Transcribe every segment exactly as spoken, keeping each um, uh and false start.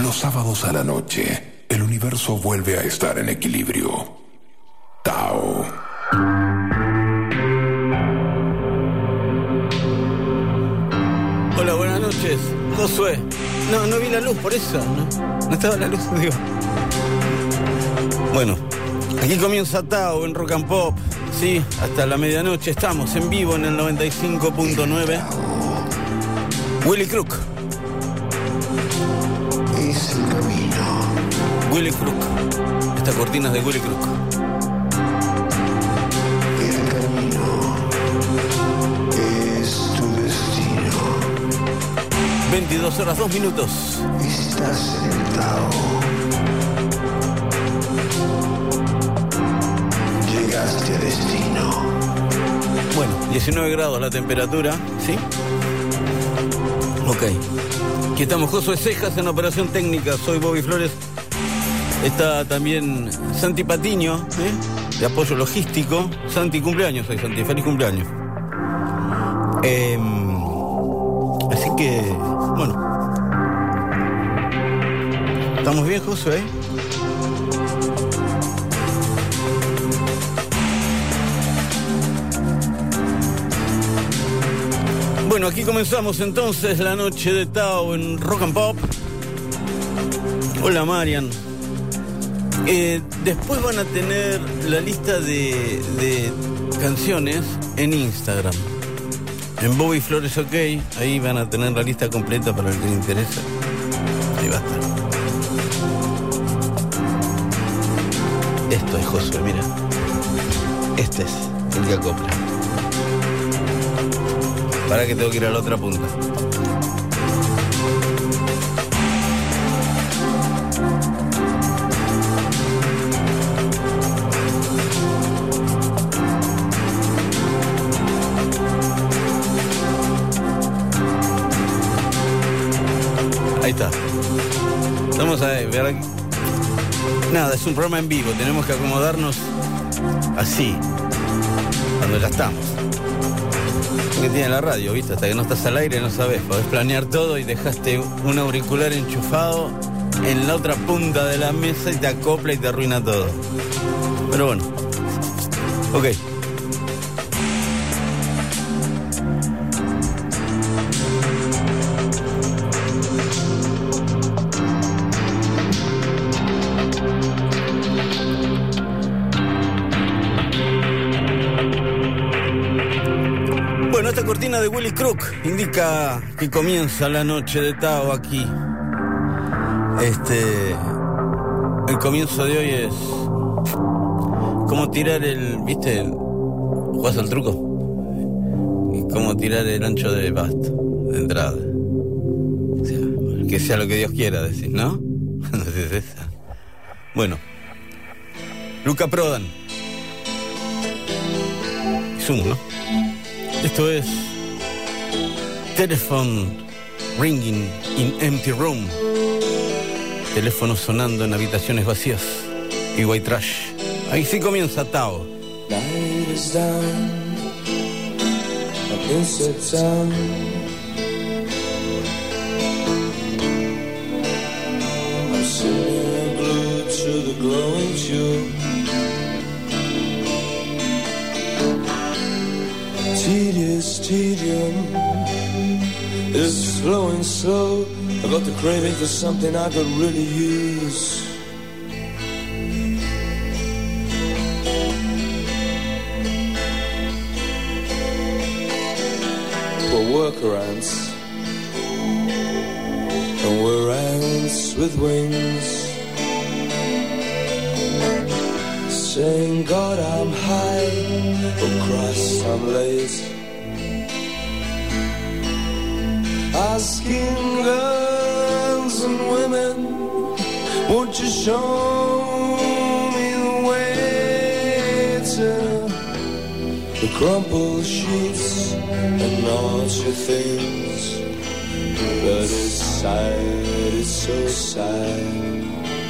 Los sábados a la noche, el universo vuelve a estar en equilibrio. Tao. Hola, buenas noches. Josué. No, no vi la luz, por eso. No, no estaba la luz, digo. Bueno, aquí comienza Tao en Rock and Pop. Sí, hasta la medianoche estamos en vivo en el noventa y cinco punto nueve. Willy Crook. Es el camino. Willy Crook. Esta cortina es de Willy Crook. El camino es tu destino. veintidós horas, dos minutos. Estás en el Tao. Llegaste a destino. Bueno, diecinueve grados la temperatura, ¿sí? Ok. Aquí estamos, Josué Cejas en operación técnica. Soy Bobby Flores. Está también Santi Patiño, ¿eh? De apoyo logístico. Santi, cumpleaños hoy, Santi. Feliz cumpleaños. Eh, así que, bueno. ¿Estamos bien, Josué? Bueno, aquí comenzamos entonces la noche de Tao en Rock and Pop. Hola, Marian. Eh, después van a tener la lista de, de canciones en Instagram. En Bobby Flores OK. Ahí van a tener la lista completa para el que le interesa. Ahí va a estar. Esto es Josué, mira. Este es el que acopla. Para que tengo que ir a la otra punta. Ahí está. Vamos a ver aquí. Nada, es un programa en vivo. Tenemos que acomodarnos así. Cuando ya estamos. Que tiene la radio, ¿viste? Hasta que no estás al aire no sabes. Podés planear todo y dejaste un auricular enchufado en la otra punta de la mesa y te acopla y te arruina todo. Pero bueno. Ok. Esta cortina de Willy Crook indica que comienza la noche de Tao aquí. Este, el comienzo de hoy es como tirar el, ¿viste? ¿Jugás al truco? Y como tirar el ancho de basto, de entrada. O sea, que sea lo que Dios quiera, decís, ¿no? No sé si es esa. Bueno, Luca Prodan. Zoom, ¿no? Esto es Telephone Ringing in Empty Room. Teléfono sonando en habitaciones vacías. Y White Trash. Ahí sí comienza Tao. Night is down, I've been set down. I'm sitting glued to the glowing tube. Tedious tedium is flowing slow. I got the craving for something I could really use. For workarounds and we're ants with wings, saying God I'm high, oh Christ I'm late. Asking girls and women, won't you show me the way to the crumpled sheets and naughty things? But it's sad, it's so sad.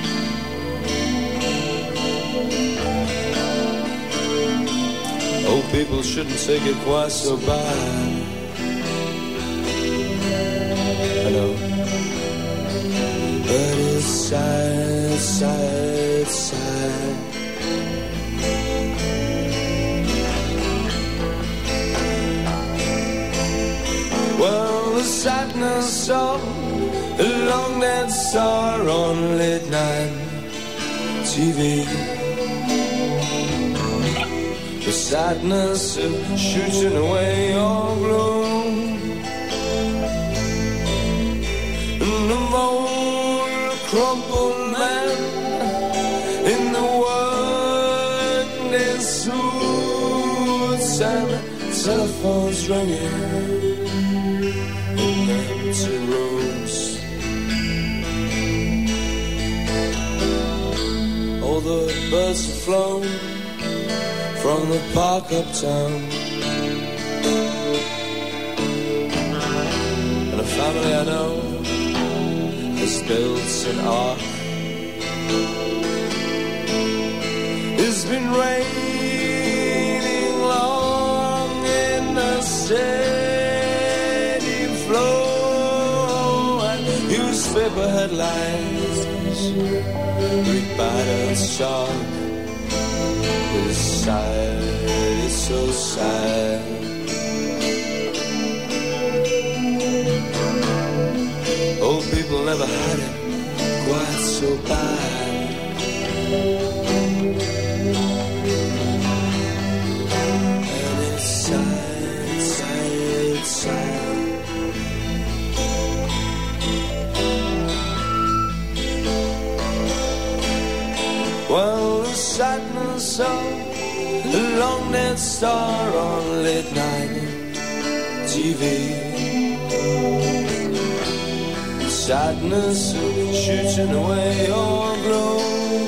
Oh, people shouldn't take it quite so bad. I know, but sad, sad, sad. Well, the sadness of a long dead star on late night T V. The sadness of shooting away your gloom. And the old crumpled man in the working suits and telephones ringing in empty rooms. All the birds have flown from the park uptown, and a family I know has built an ark. It's been raining long in the steady flow, and newspaper headlines read battered shark. It's sad, it's so sad. Old people never had it quite so bad. And it's sad, sad, sad. Well, the sadness of a long dead star on late night T V. The sadness of shooting away your glow.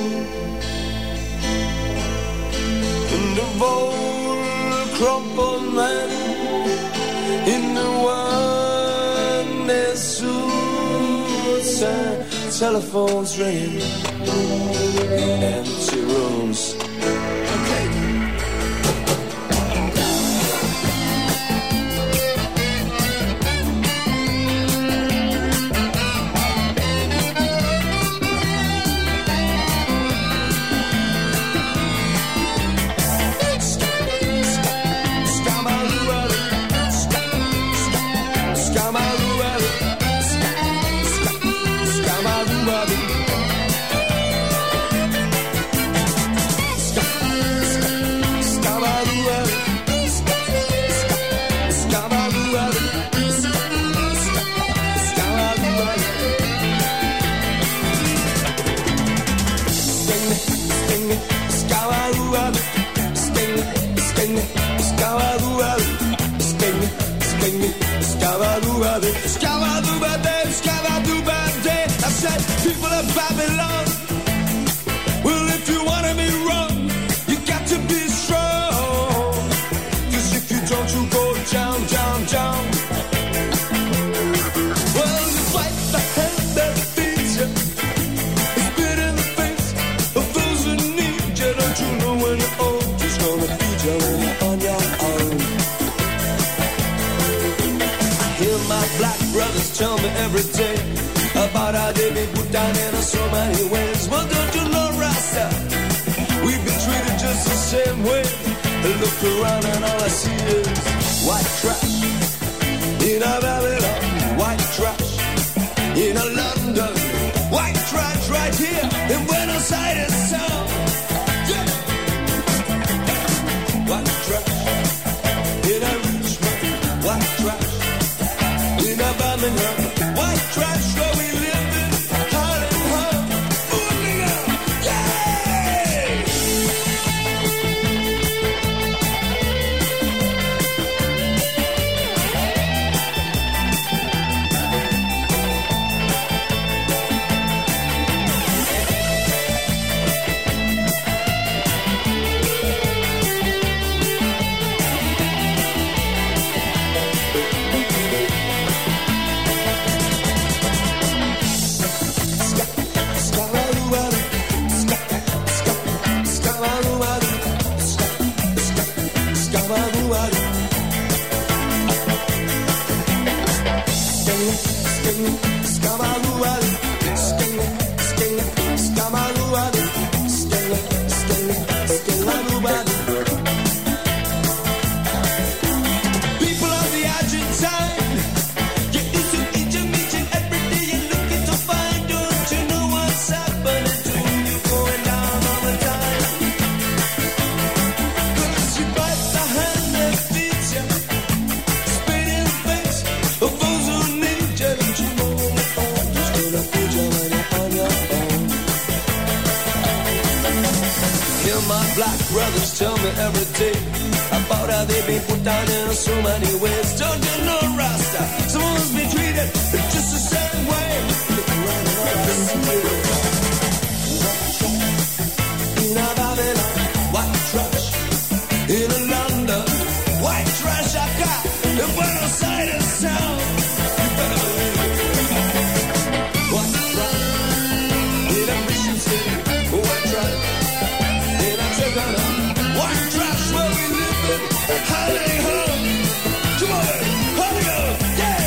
And of old crumpled men in the one-day suits and telephones ringing in empty rooms. Okay. I said, people of Babylon, well, if you want to be wrong, you got to be strong. Cause if you don't, you go down, down, down. Well, you fight the hand that feeds you. It's spit in the face of those who need you. Don't you know when you're old, just gonna feed you when you're on your own. I hear my black brothers tell me every day about how they been put down in so many ways. Well, don't you know, Rasta, we've been treated just the same way. I look around and all I see is white trash in a Babylon, white trash in a London, white trash right here in Buenos Aires. So, yeah. White trash in a Richmond, white trash in a Birmingham, white trash where we live. my black brothers tell me every day about how they've been put down in so many ways. Don't you know, Rasta? Someone's been treated just the same way. In a Babylon, white trash. In a London, white trash I got. In Buenos Aires sound. You better believe it. White trash. In a mission city, white trash. In a Tirana, white trash where we live in. Holiday home. Come on, holiday, yeah.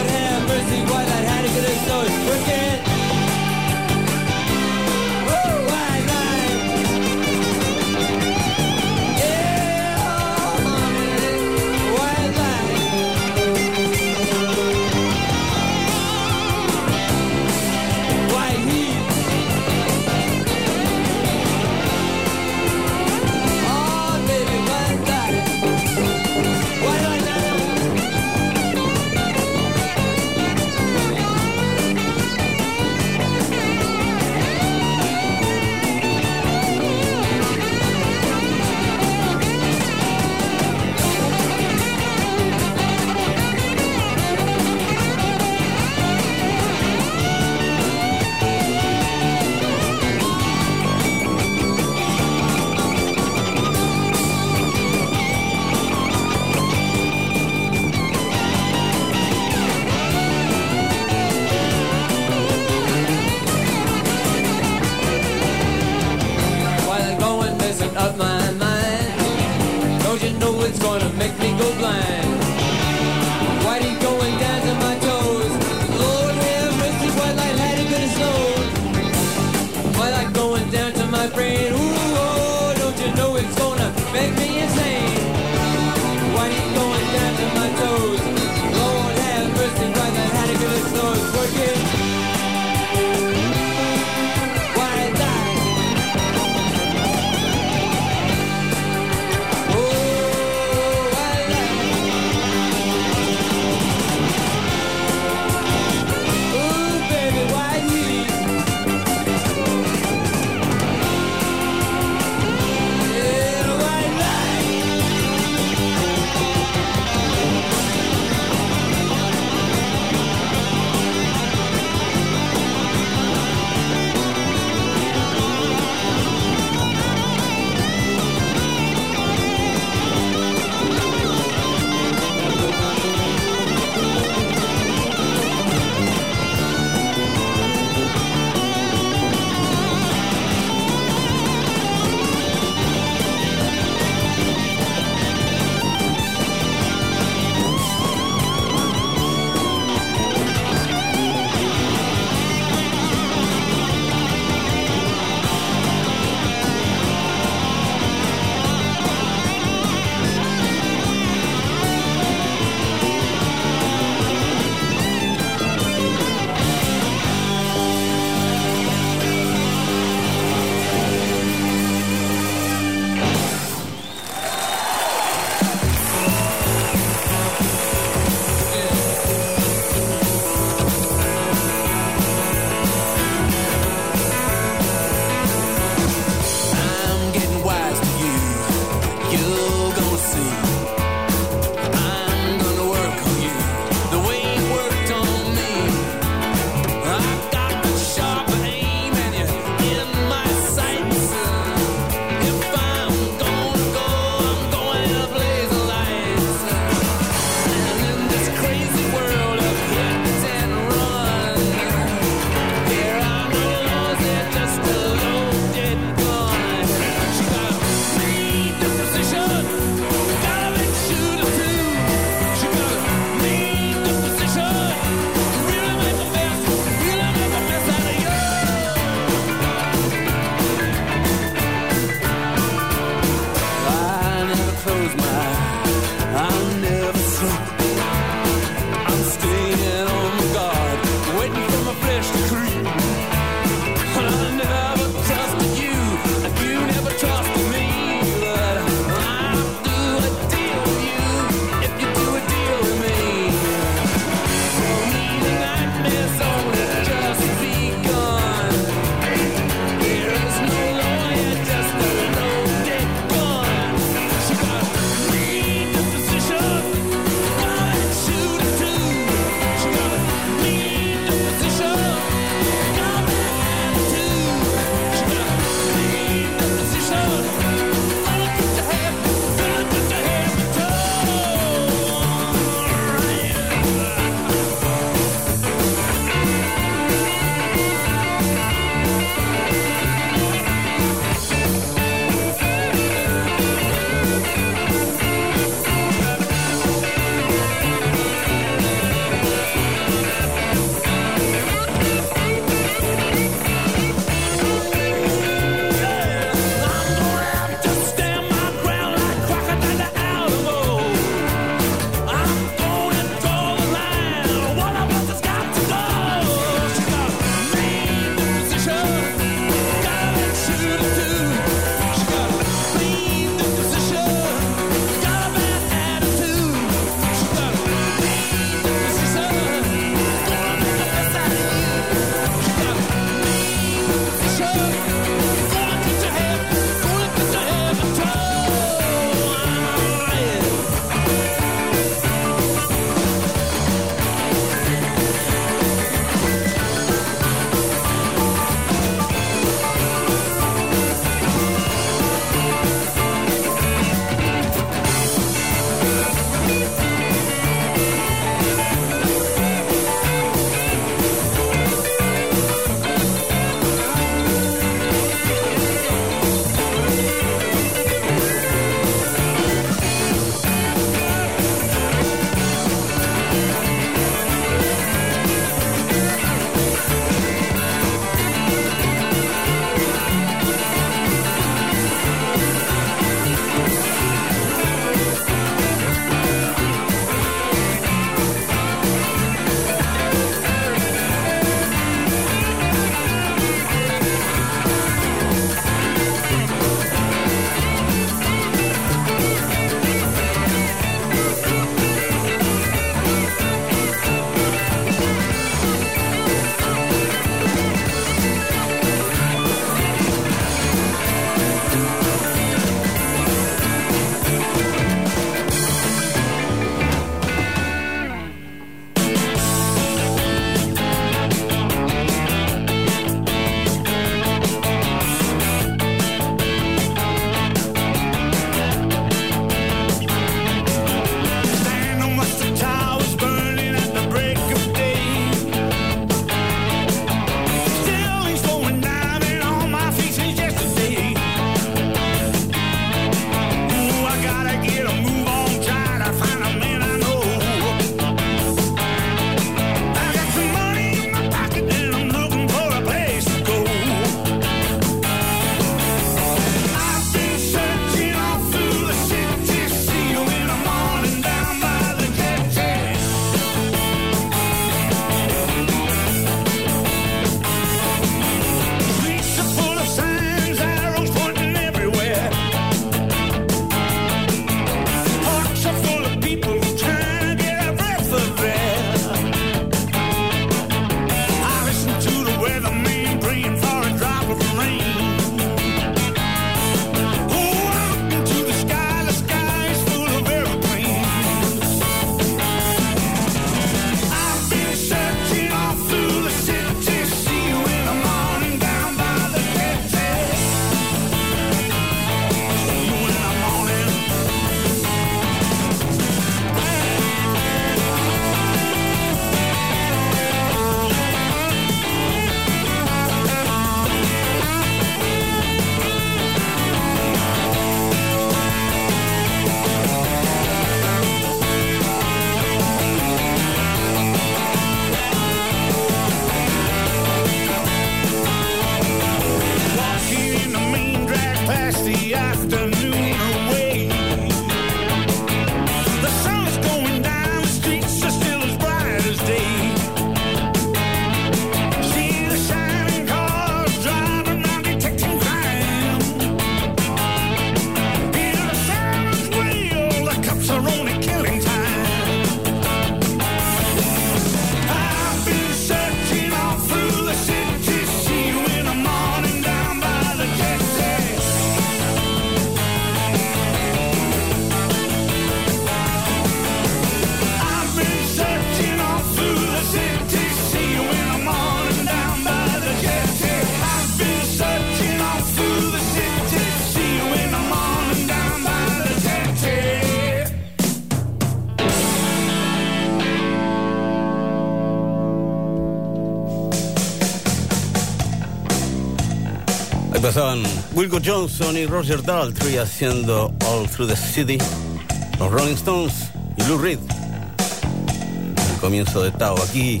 Pasaban Wilco Johnson y Roger Daltrey haciendo All Through the City, los Rolling Stones y Lou Reed. El comienzo de Tao, aquí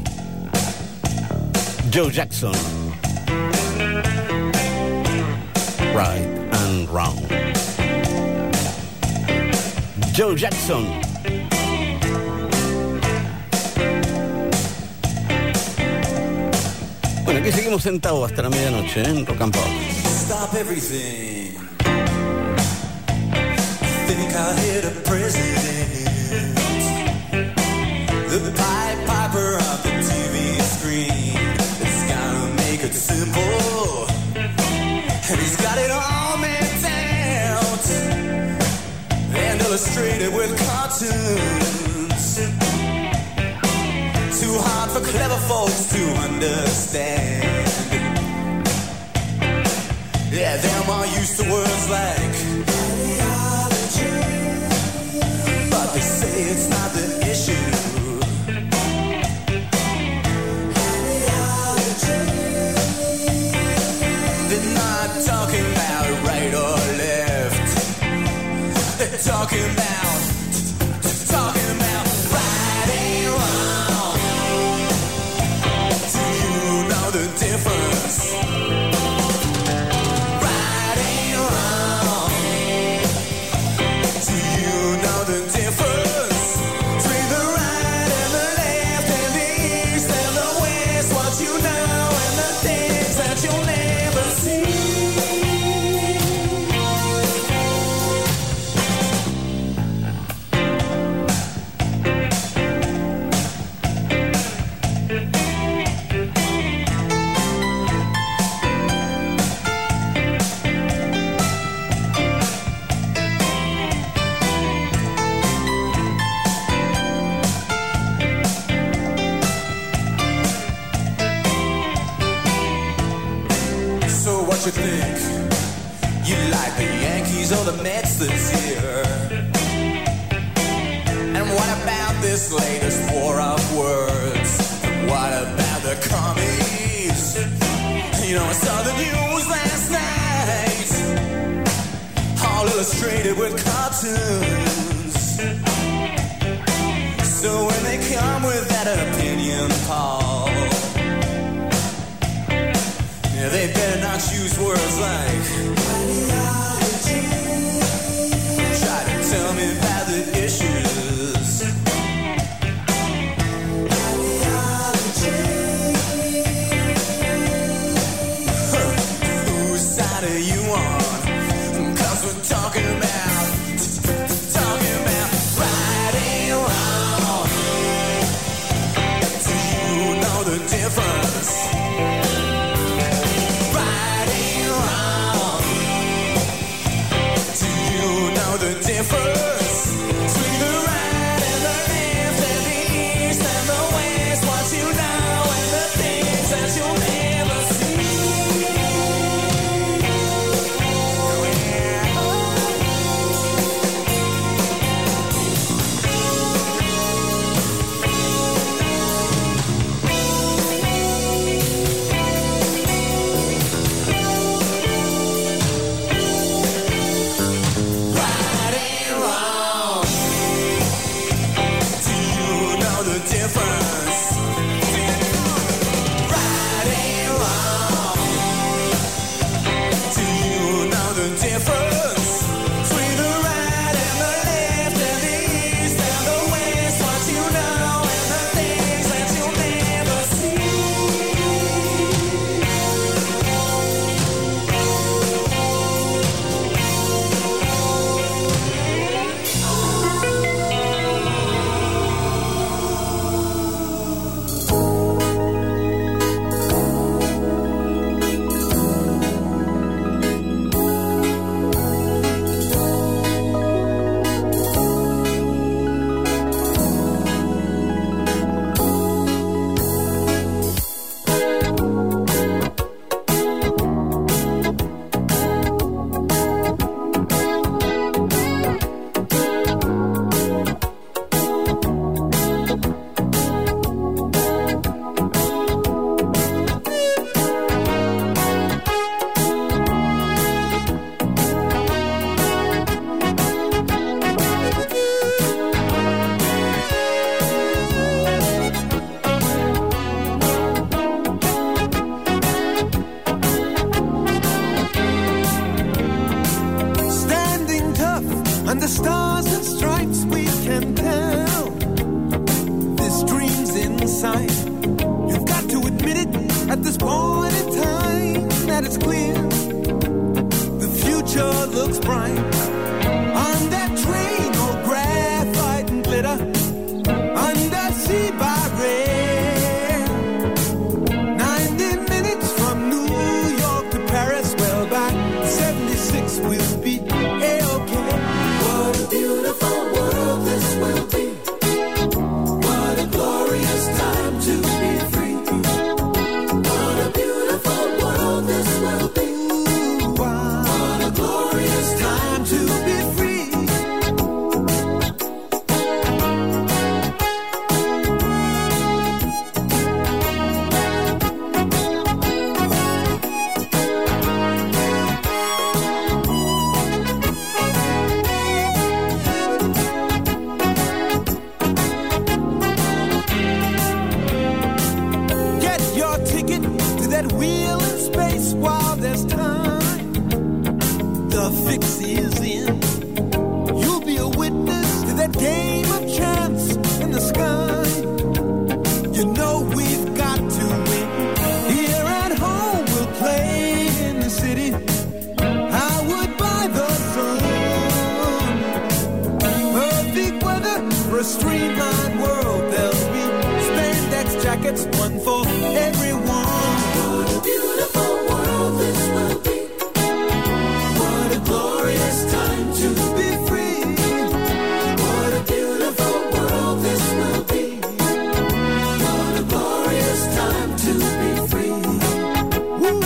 Joe Jackson, Right and Wrong. Joe Jackson. Bueno, aquí seguimos sentados hasta la medianoche, ¿eh? En Rock and Pop. Stop everything. I think I hit a president. The Pied Piper of the T V screen. It's gotta make it simple. And he's got it all mapped out and illustrated with cartoons. Too hard for clever folks to understand. Yeah, them are used to words like ideology, but they say it's not the issue. Ideology. They're not talking about right or left. They're talking about, talking about right and wrong. Do you know the difference? What you think? You like the Yankees or the Mets this year? And what about this latest war of words? What about the commies? You know, I saw the news last night, all illustrated with cartoons. So when they come with that opinion, Paul, yeah, they better not use words like ideology. Try to tell me about the issues. Ideology. Huh. Whose side are you on? 'Cause we're talking about, talking about right and wrong. Do you know the difference? The difference between the right and the left and the east and the west, what you know and the things that you'll never see. Oh, yeah. sign. You've got to admit it at this point in time that it's clear. The future looks bright. On that train, all graphite and glitter. Undersea by rail. Ninety minutes from New York to Paris. Well, by seventy-six we'll be A-OK. What a beautiful world this will be. What a glorious time to be free. What a beautiful world this will be. Wow. What a glorious time to be free. Get your ticket to that wheel in space while there's time. The fix is in. You'll be a witness to that game of chance in the sky. You know we've got to win. Here at home we'll play in the city. I would buy the sun. Perfect weather for a streamlined world. There'll be spandex jackets, one for everyone. What a beautiful world this will be. What a glorious time to be free. What a beautiful world this will be. What a glorious time to be free. Woo.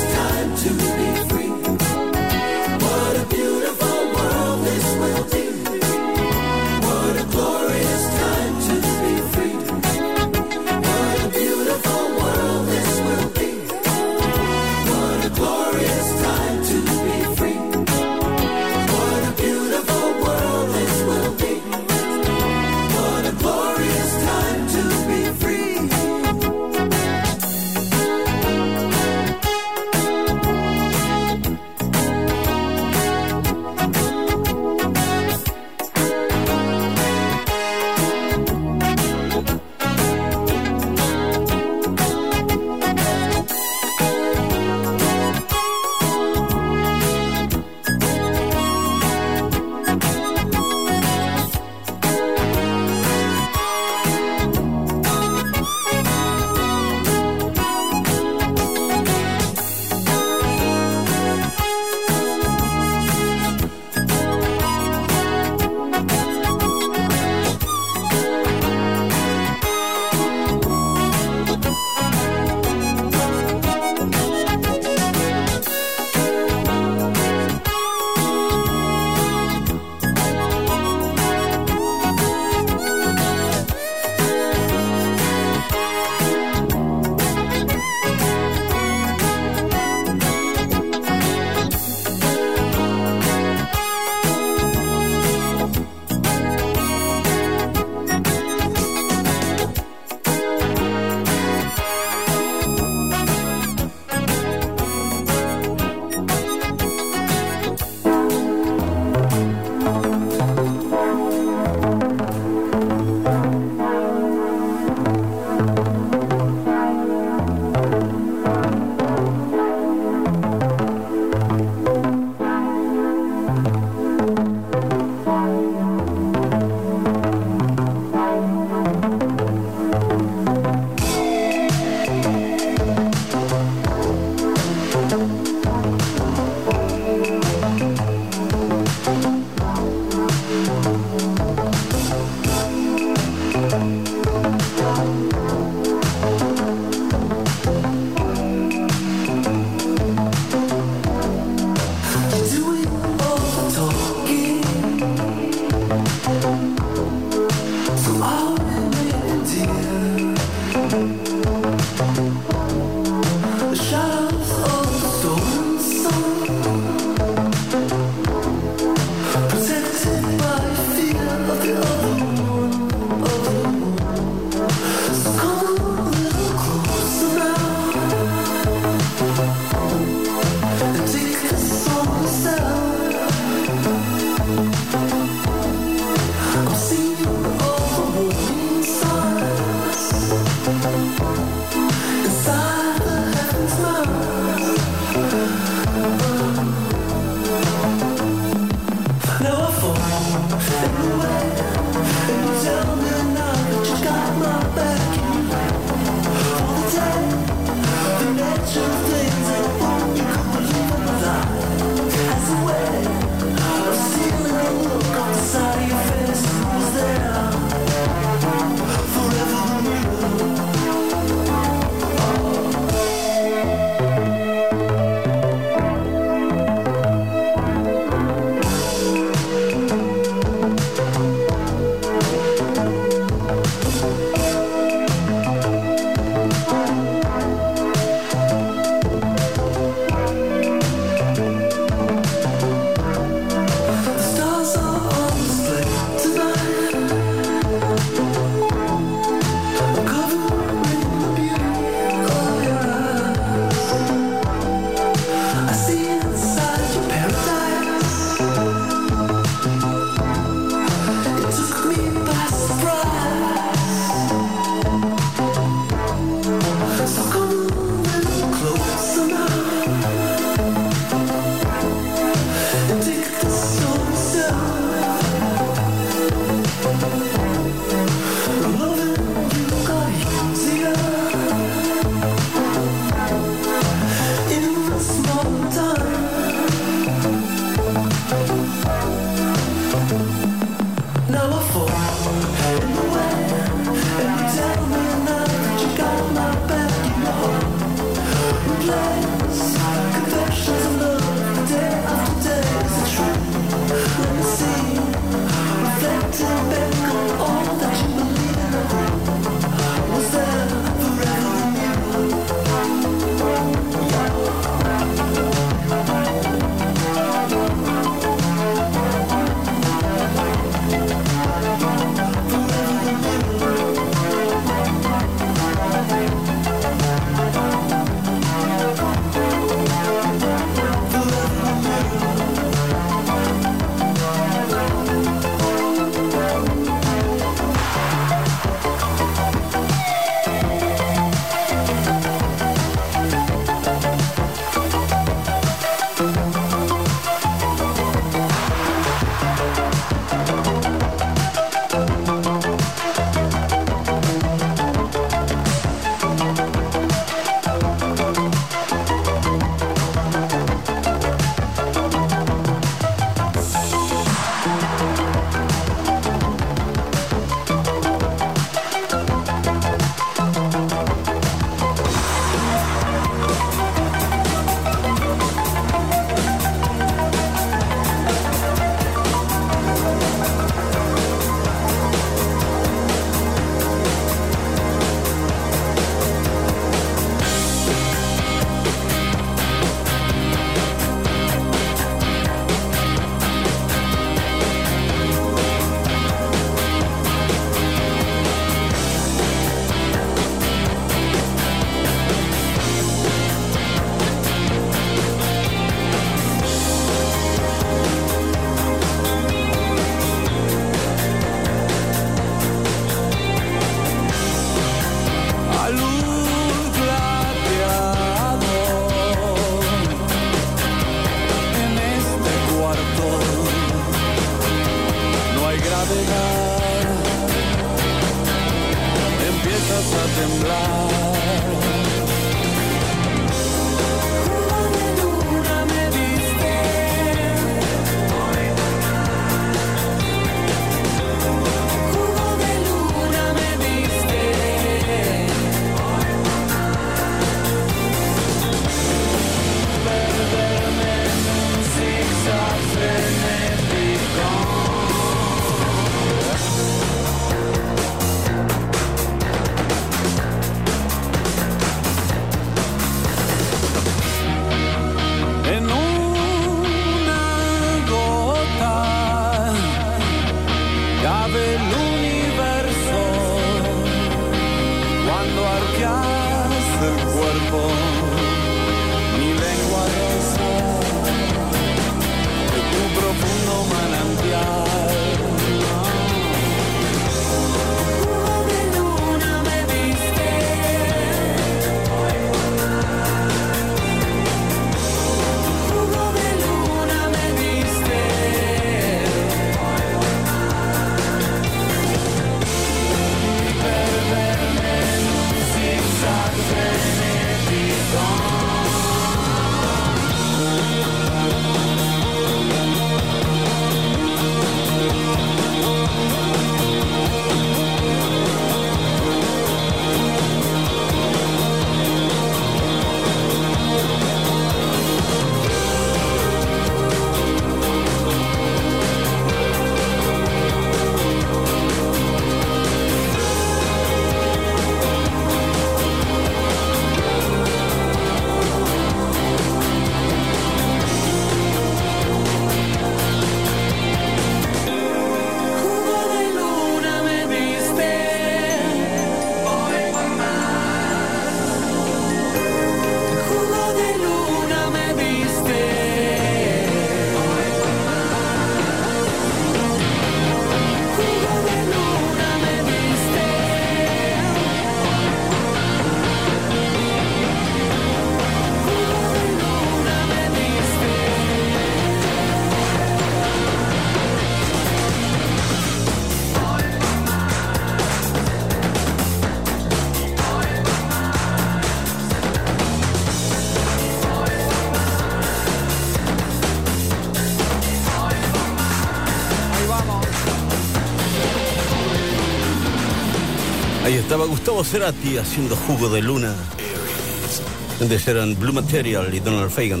Ahí estaba Gustavo Cerati haciendo Jugo de Luna. Antes eran Blue Material y Donald Fagen.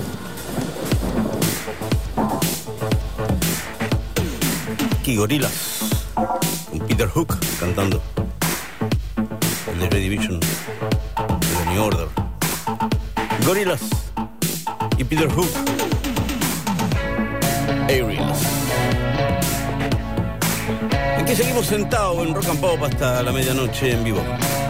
Aquí Gorillaz con Peter Hook cantando. El de Joy Division, de New Order. Gorillaz y Peter Hook. Aerials. Aquí seguimos sentados en Rock and Pop hasta la medianoche en vivo.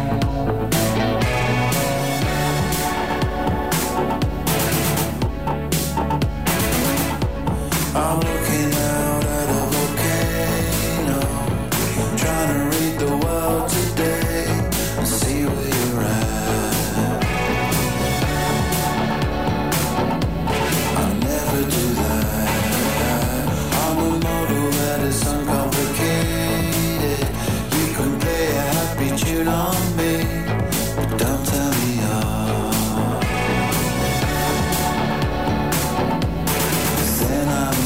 I'm looking out at a volcano, trying to read the world today and see where you're at. I'll never do that. I'm a model that is uncomplicated. You can play a happy tune on me, but don't tell me off. Then I'm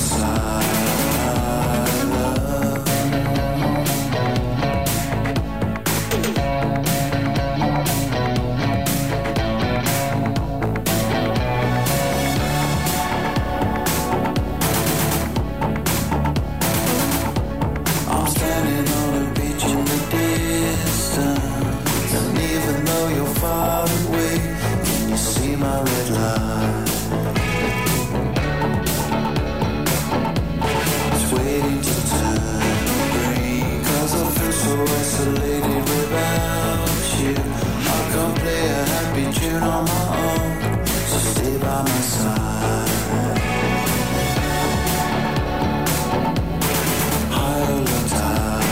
I'm standing on a beach in the distance, and even though you're far away, can you see my red light? It's waiting to turn green, 'cause I feel so isolated without you. I can't play a happy tune on my own, so stay by my side. High or low tide.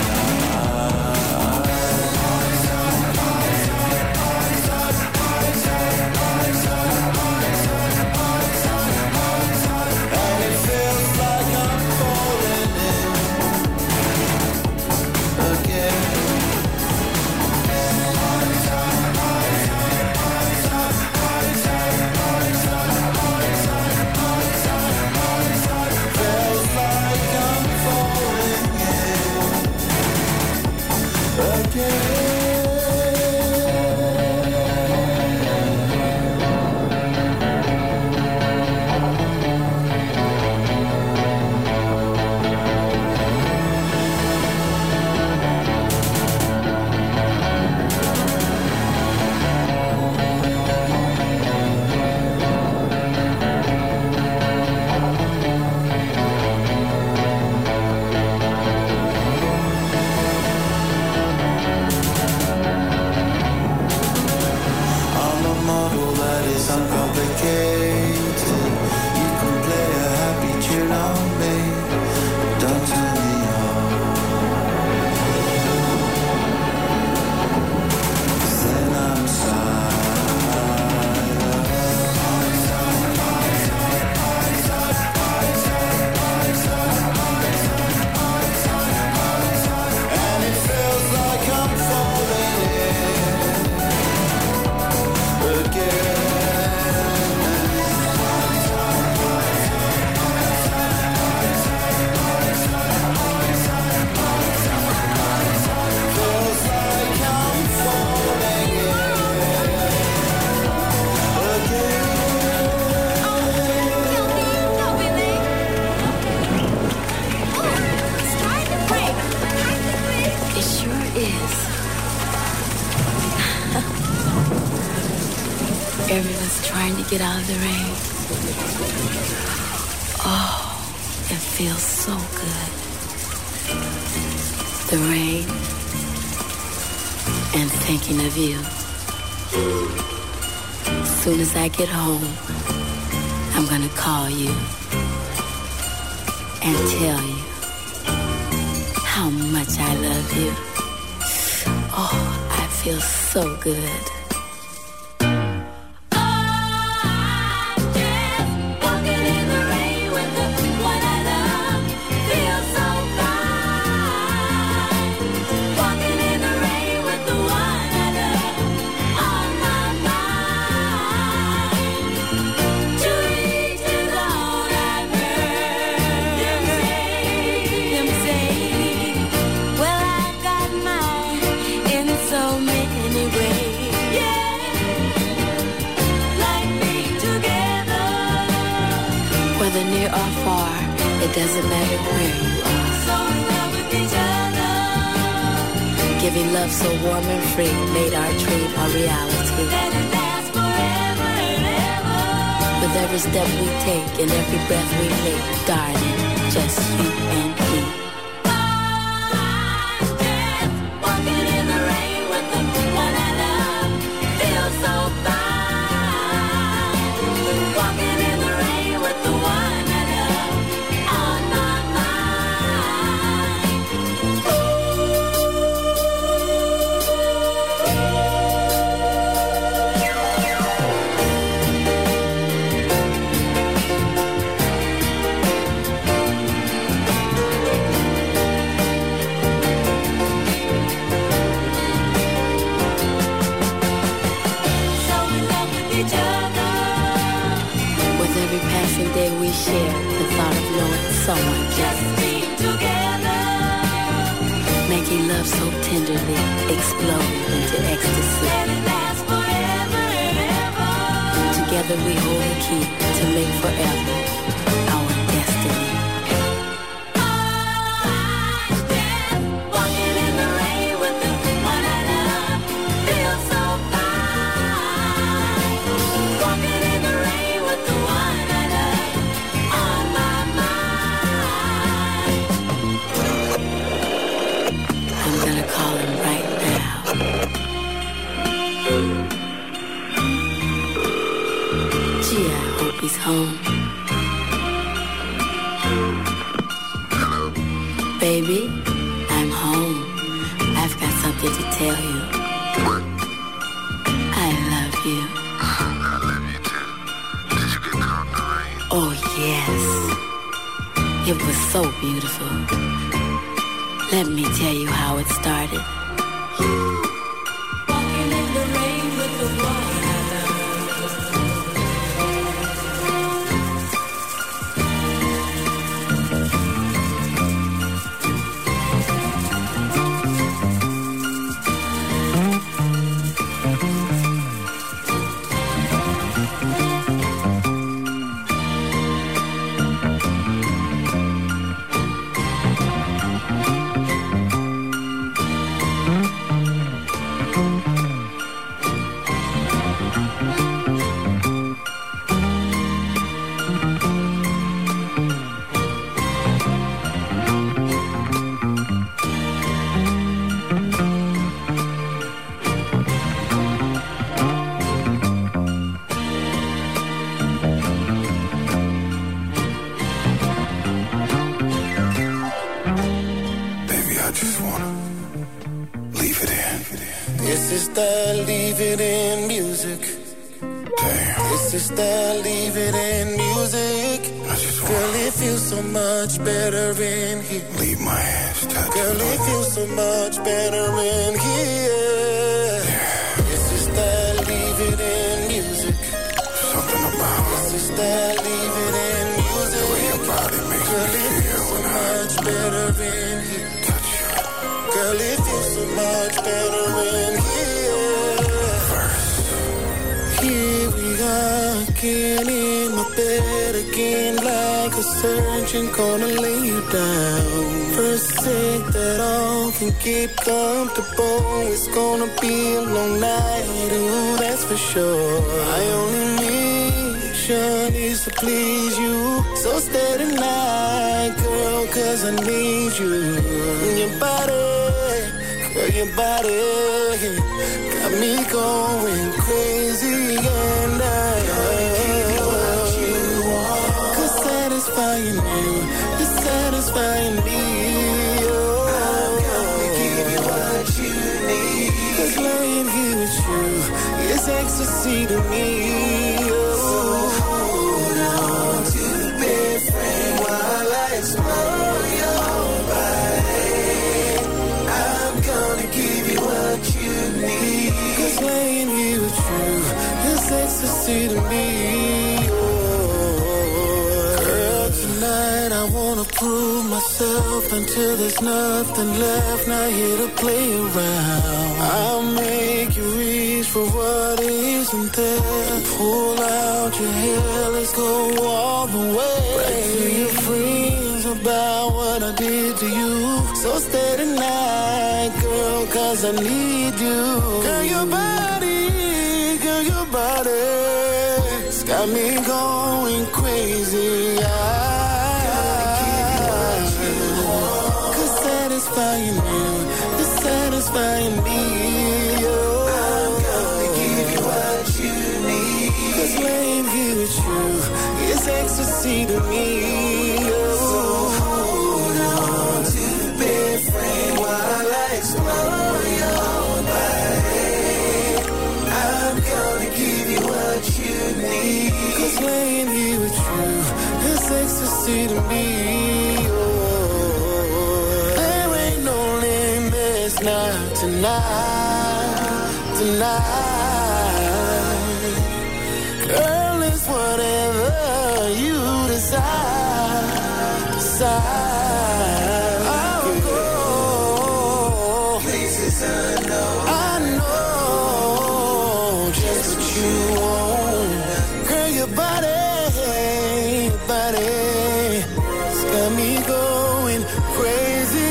And it feels like I'm falling in again. Feels like I'm falling in again. I'm a model that is uncomplicated. You can play a happy tune on me, but don't turn me off. Then I'm silent. And it feels like I'm falling in again. Feels like I'm falling in again. It sure is. Everyone's trying to get out of the rain. Oh, it feels so good. The rain and thinking of you. As soon as I get home, I'm gonna call you and tell you how much I love you. Oh, I feel so good. Well, I got mine in so doesn't matter where you are. So in love with each other. Giving love so warm and free made our dream a reality. Let it last forever and ever. With every step we take and every breath we make, darling, just you and me. We share the thought of knowing someone just being together, making love so tenderly, explode into ecstasy. Let it last forever and ever. Together we hold the key to make forever our destiny. He's home. Hello. Baby, I'm home. I've got something to tell you. What? I love you. I love you too. Did you get caught in the rain? Oh, yes. It was so beautiful. Let me tell you how it started. Walking in the rain with the one I love. Leave it in music. Damn. This is the leave it in music. Girl, it feels so much better in here. Leave my hands touch. Girl, it feels so much better in here. Yeah. This is the leave it in music. Something about This is the leave it in music. the way your body makes Girl, me it feel feels so when much I better in here. touch you. Girl, it feels so much better in here. Here we are again in my bed again, like a surgeon gonna lay you down. First take that off and get comfortable. It's gonna be a long night, ooh, that's for sure. My only mission is to please you. So stay tonight, girl, cause I need you. Your body, girl, your body got me going crazy, and I love you. Cause satisfying you is satisfying me. Oh, I'm gonna give you what you need. Cause lying here with you is ecstasy to me. Oh, so hold on to be friend while I explore your body. I'm gonna give you what you need. Cause laying here with you is ecstasy to me. Oh, girl, tonight I wanna prove myself until there's nothing left. Not here to play around. I'll make you reach for what isn't there. Pull out your hair, let's go all the way. Right to your friends, I'll cause I need you. Girl, your body, girl, your body, it's got me going crazy. I, cause satisfying you is satisfying me. Oh, I'm gonna give you what you need. Cause laying here with you is ecstasy to me. Oh, so hold on to the bed frame while I explore your body. I'm gonna give you what you need. Cause laying here with you is ecstasy to me. Oh, there ain't no limits now tonight, tonight. Girl, it's whatever you decide, decide. I'll go places unknown. I know just what you want. Girl, your body, your body, it's got me going crazy,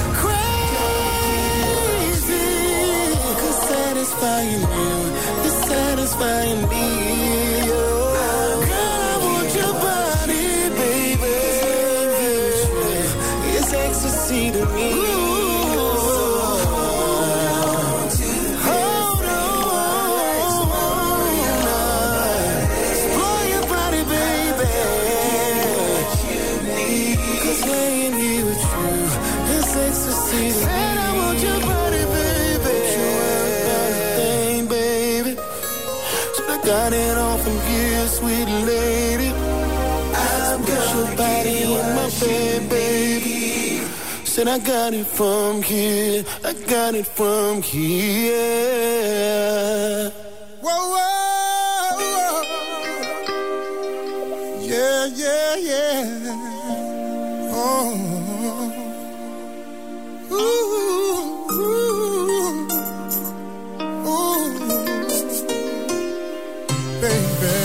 crazy. Cause satisfying you is satisfying me. Oh, girl, I want your body, baby. It's ecstasy to me. Hold on, explore your body, baby. Cause laying here with you is ecstasy to me. Said I want your body, baby. Thing, baby. So I got it all from here, sweet lady. I'm got your body in my bed, baby. Said I got it from here, I got it from here. Whoa, whoa, whoa. Yeah, yeah, yeah. Oh. Ooh, ooh, ooh. Baby.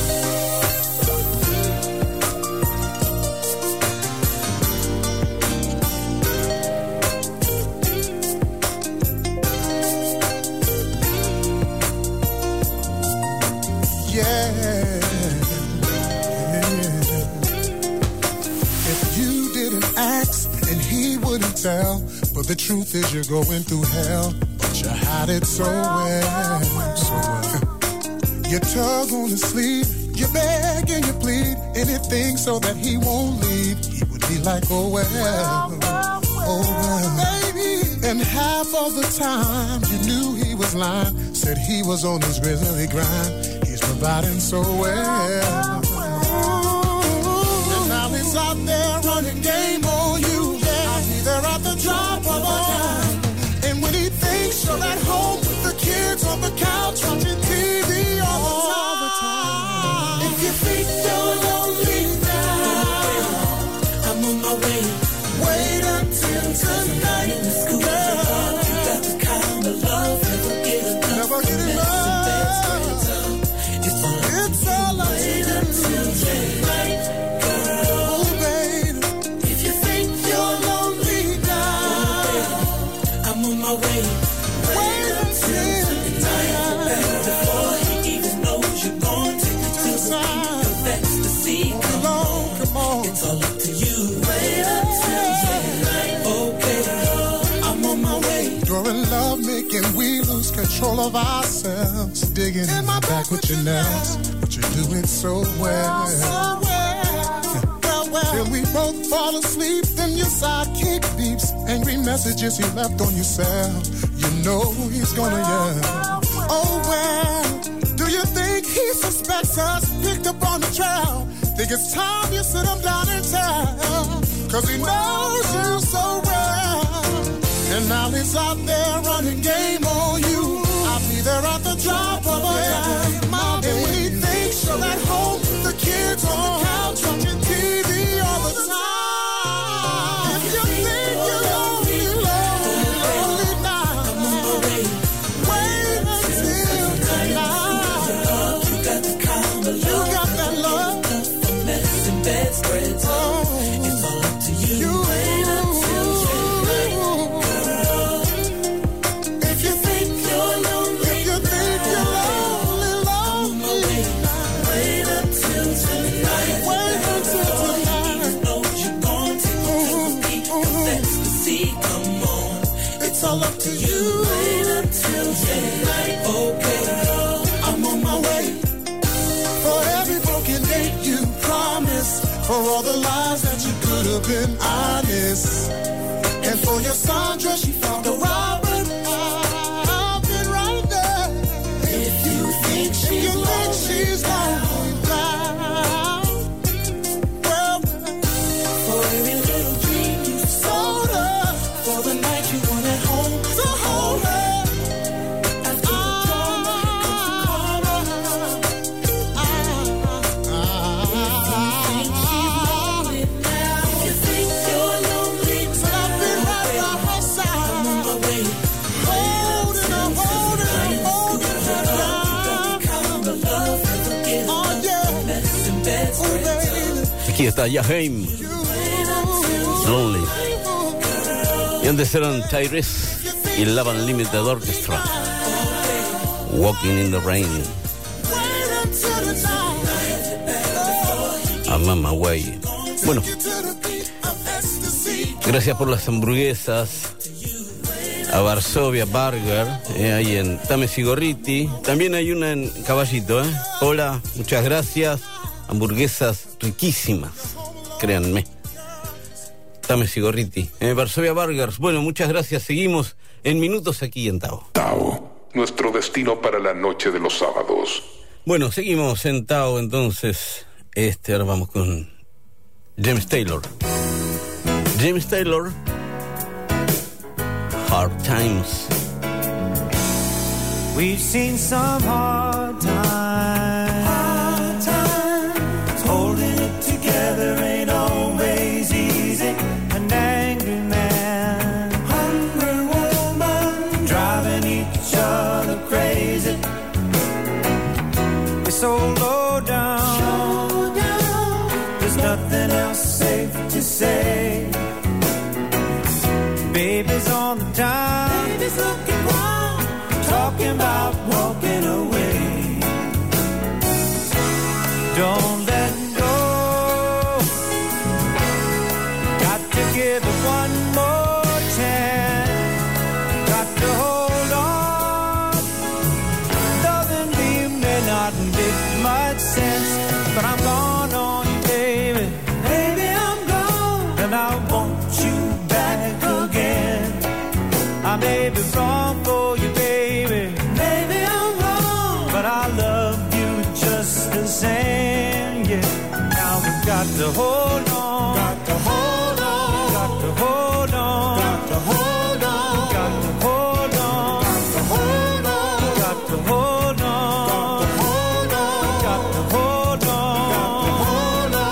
Tell, but the truth is you're going through hell, but you hide it so well, so well. You tug on his sleeve, you beg and you plead, anything so that he won't leave. He would be like, oh well, oh well, baby. And half of the time you knew he was lying, said he was on his grizzly grind. He's providing so well, and now he's out there running game on you. They're at the drop of a dime. And when he thinks you're at home with the kids on the couch watching T V all the time. If you think you're lonely now, I'm on my way. Wait until tonight. Girl, you got the kind of love never get enough. Never get enough. It's all, it's all up to you. Wait until tonight. Girl, baby, if you think you're lonely, I'm on my way. Wait until tonight. Before he even knows you're gone, take it to the beat of ecstasy. Come on, come on. It's all up to you. Wait until tonight. Okay, I'm on my way. During love making, we lose control of ourselves. Digging in my back with your nails, but you do it so well. So well. Till we both fall asleep, then your sidekick beeps. Angry messages he left on your cell. You know he's gonna yell. Oh well, do you think he suspects us? Picked up on the trail. Think it's time you sit him down and tell. Cause he knows you so well. And now he's out there running game on you. I'll be there at the drop of a dime. And when he thinks you're at home, the kids on the couch watching T V all the time. If you think you're lonely, lonely, lonely now, wait until tonight. You got the kind of love, you got that love, a mess and bed spreads. Oh, it's all up to you. You wait until tonight, girl. up to you. Wait until tonight. Okay, I'm on my way. For every broken date you promised, for all the lies that you could have been honest, and for your Sandra, she found a Robert. I've been right there. If you think she's, if you think she's lonely now, well, for every little dream you sold her, for the night you wanted home to hold her. After the drama comes the karma. If you think she's lonely now, if you think you're lonely now, so I've been right by her side. I'm on my way. Holding her, holding her, holding her down. Oh yeah, oh baby. Aquí está Jaheim, Lonely. Y antes eran Tyrese y Love Unlimited Orchestra, Walking in the Rain. I'm on my way. Bueno, gracias por las hamburguesas a Varsovia Burger, eh, ahí en Tames y Gorriti. También hay una en Caballito, ¿eh? Hola, muchas gracias. Hamburguesas riquísimas, créanme. Tames y Gorriti, eh, Varsovia Burgers. Bueno, muchas gracias. Seguimos en minutos aquí en Tao. Tao, nuestro destino para la noche de los sábados. Bueno, seguimos en Tao, entonces. Este, ahora vamos con James Taylor. James Taylor, Hard Times. We've seen some hard times. Hard times. Holding it together ain't always easy. An angry man, hungry woman, driving each other crazy. We're so low down, low down. There's nothing else safe to say. Baby's on the dime, baby's looking wild, talking about walking away. Don't let go, got to give it one more chance, got to hold on. Doesn't leave may not make much sense, but I'm gone on you, baby. Baby, I'm gone, and I want you back again. I may be wrong for you, baby. Maybe I'm wrong, but I love you just the same, yeah. Now we've got to hold on, got to hold on, got to hold on, got to hold on, got to hold on, got to hold on, got to hold on, got to hold on, got to hold on, got to hold on.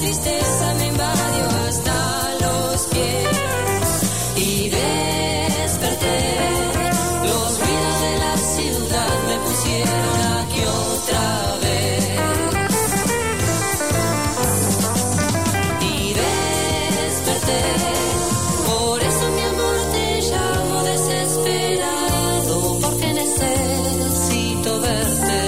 tristeza me invadió hasta los pies y desperté. Los ruidos de la ciudad me pusieron aquí otra vez. Y desperté. Por eso mi amor te llamo desesperado, porque necesito verte.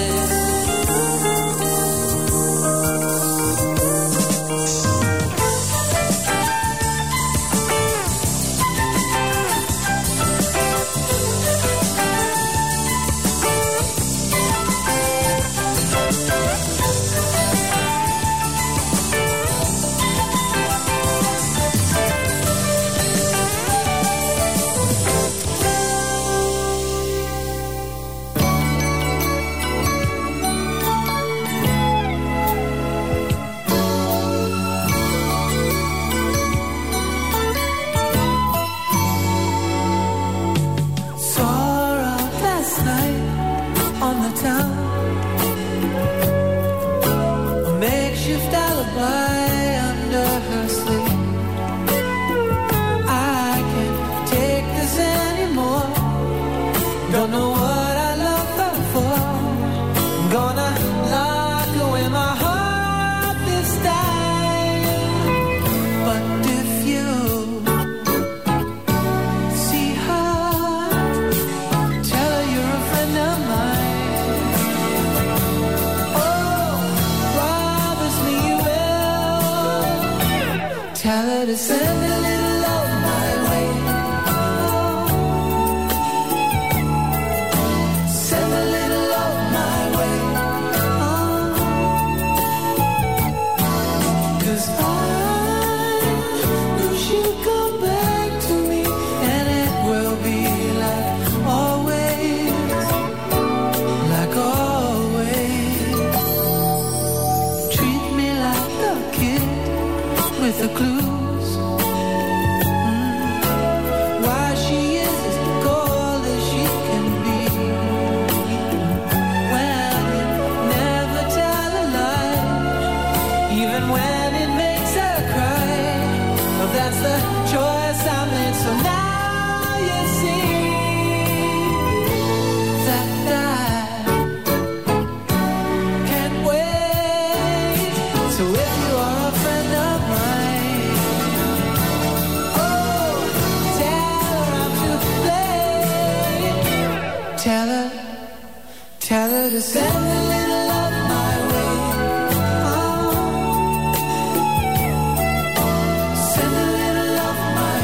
Send a little of my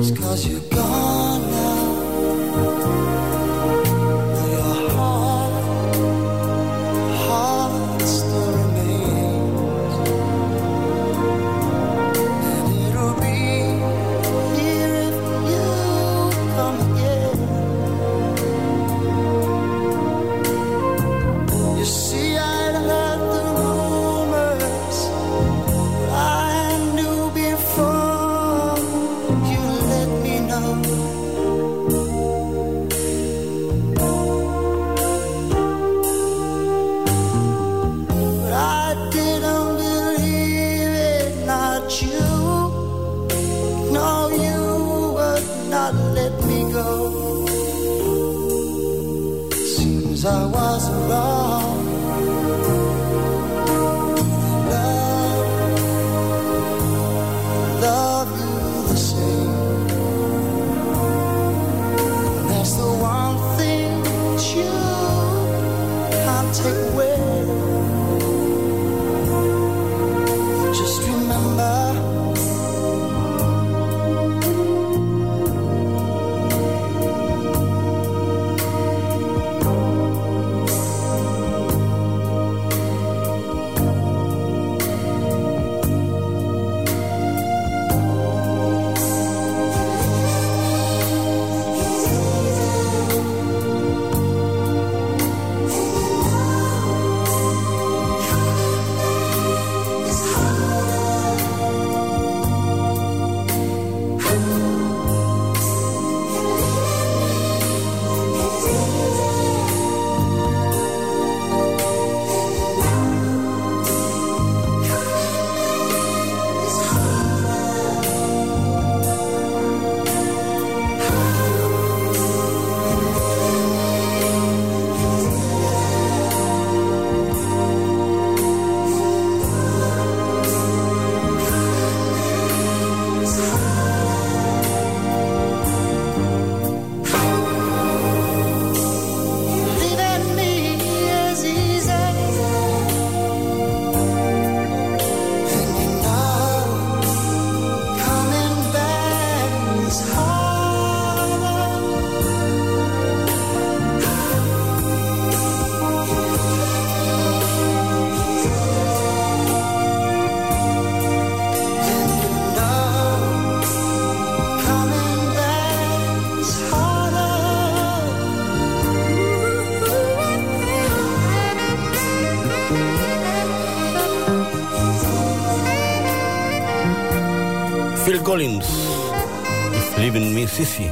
just 'cause you're gone now. Your heart, heart still remains, and it'll be here if you come again. You see, I'd heard the rumors, but I knew before you let me know. But I didn't believe it, not you. No, you would not let me go. Seems I was wrong. Love, love you the same. And that's the one thing that you can't take away. Just remember, leaving me is easy, and you know coming back is harder. And you know coming back is harder. Phil Collins, If Living Me Is Easy.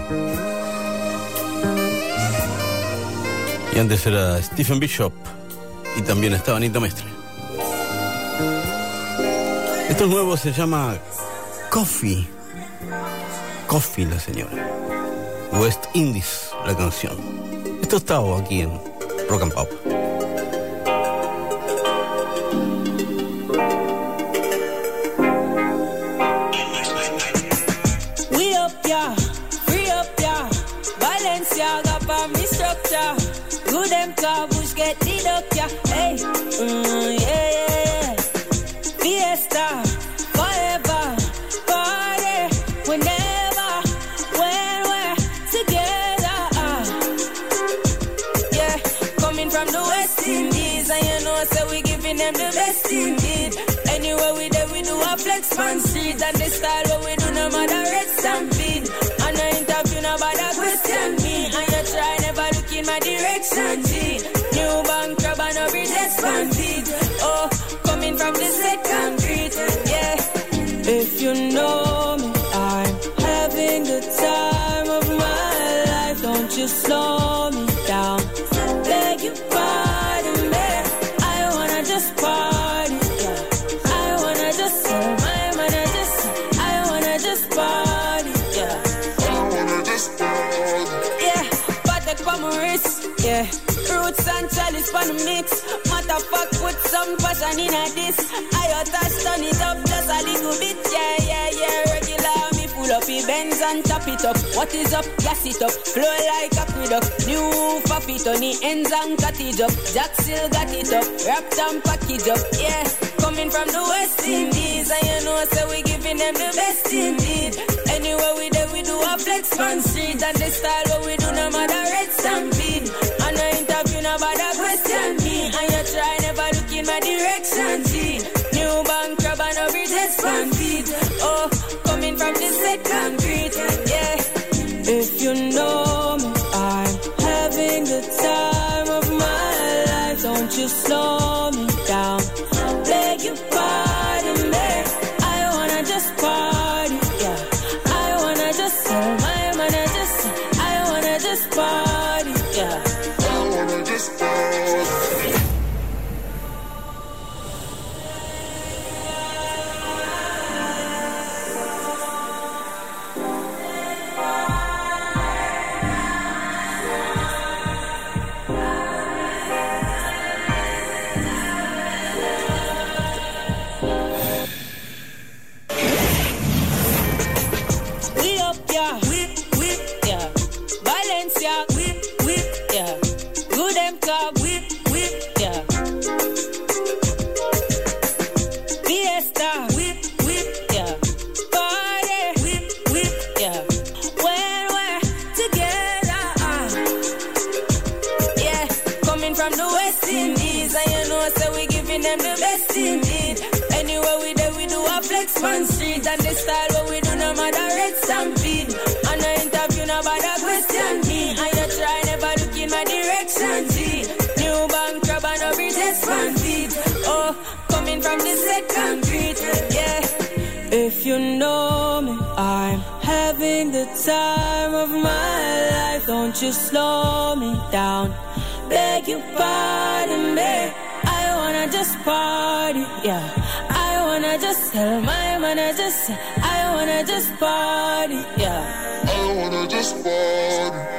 Y antes era Stephen Bishop. Y también estaba Anita Mestre. Esto nuevo se llama Coffee. Coffee, la señora. West Indies, la canción. Esto estaba aquí en Rock and Pop. We up, yeah, free up, yeah. Balenciaga for me structure. Good them car, bush get the duck, yeah. Hey, mm, yeah, yeah, yeah. Fiesta, forever, party, whenever, when we're together. Uh. Yeah, coming from the West Indies, and you know, so we giving them the best indeed. Anywhere we there, we do a flex on street, and the style what we do, no matter red stampede. And no interview, no bother question me, and you try never look in my direction, G. New bank crab and no bridge expanded. Oh, coming from the second street, yeah. If you know me, I'm having the time of my life. Don't you slow me down. Beg you pardon me. I wanna just party. Yeah. I wanna just, I wanna just, I wanna just party. Yeah. I wanna just party. Yeah. Patek for my wrist. Yeah. Roots and chalice for the mix. Matter fuck, put some passion in a this. I touch, turn it up just a little bit. Yeah, yeah, yeah. Regular me full up the Benz and top it up. What is up? Gas it up. Flow like aqueduct. New faffy on the ends and cut it up. Jack still got it up. Wrapped and package up. Yeah. Coming from the West Indies. And you know, so we giving them the best indeed. Anywhere we there, we do a a flex man street. And the style what we do no matter red stampede. And no interview no bother question me. And you try never look in my direction, G. New bank crab and no bridges fan feet. Oh, coming from the set concrete, yeah. If you know me, I'm having the time of my life. Don't you slow me down. Beg you pardon me. I wanna just party, yeah. I wanna just tell my man I just, I wanna just party, yeah. I wanna just party. Them the best indeed. Anywhere we there we do a flex man street. And the style what we do no matter red stampede. And no interview no bother question me. And you try never look in my direction, G. New bank crab and no bridges fan feet. Oh, coming from the set concrete, yeah. If you know me, I'm having the time of my life. Don't you slow me down. Beg you pardon me. I wanna just party, yeah. I wanna just tell my man I just, I wanna just party, yeah. I wanna just party.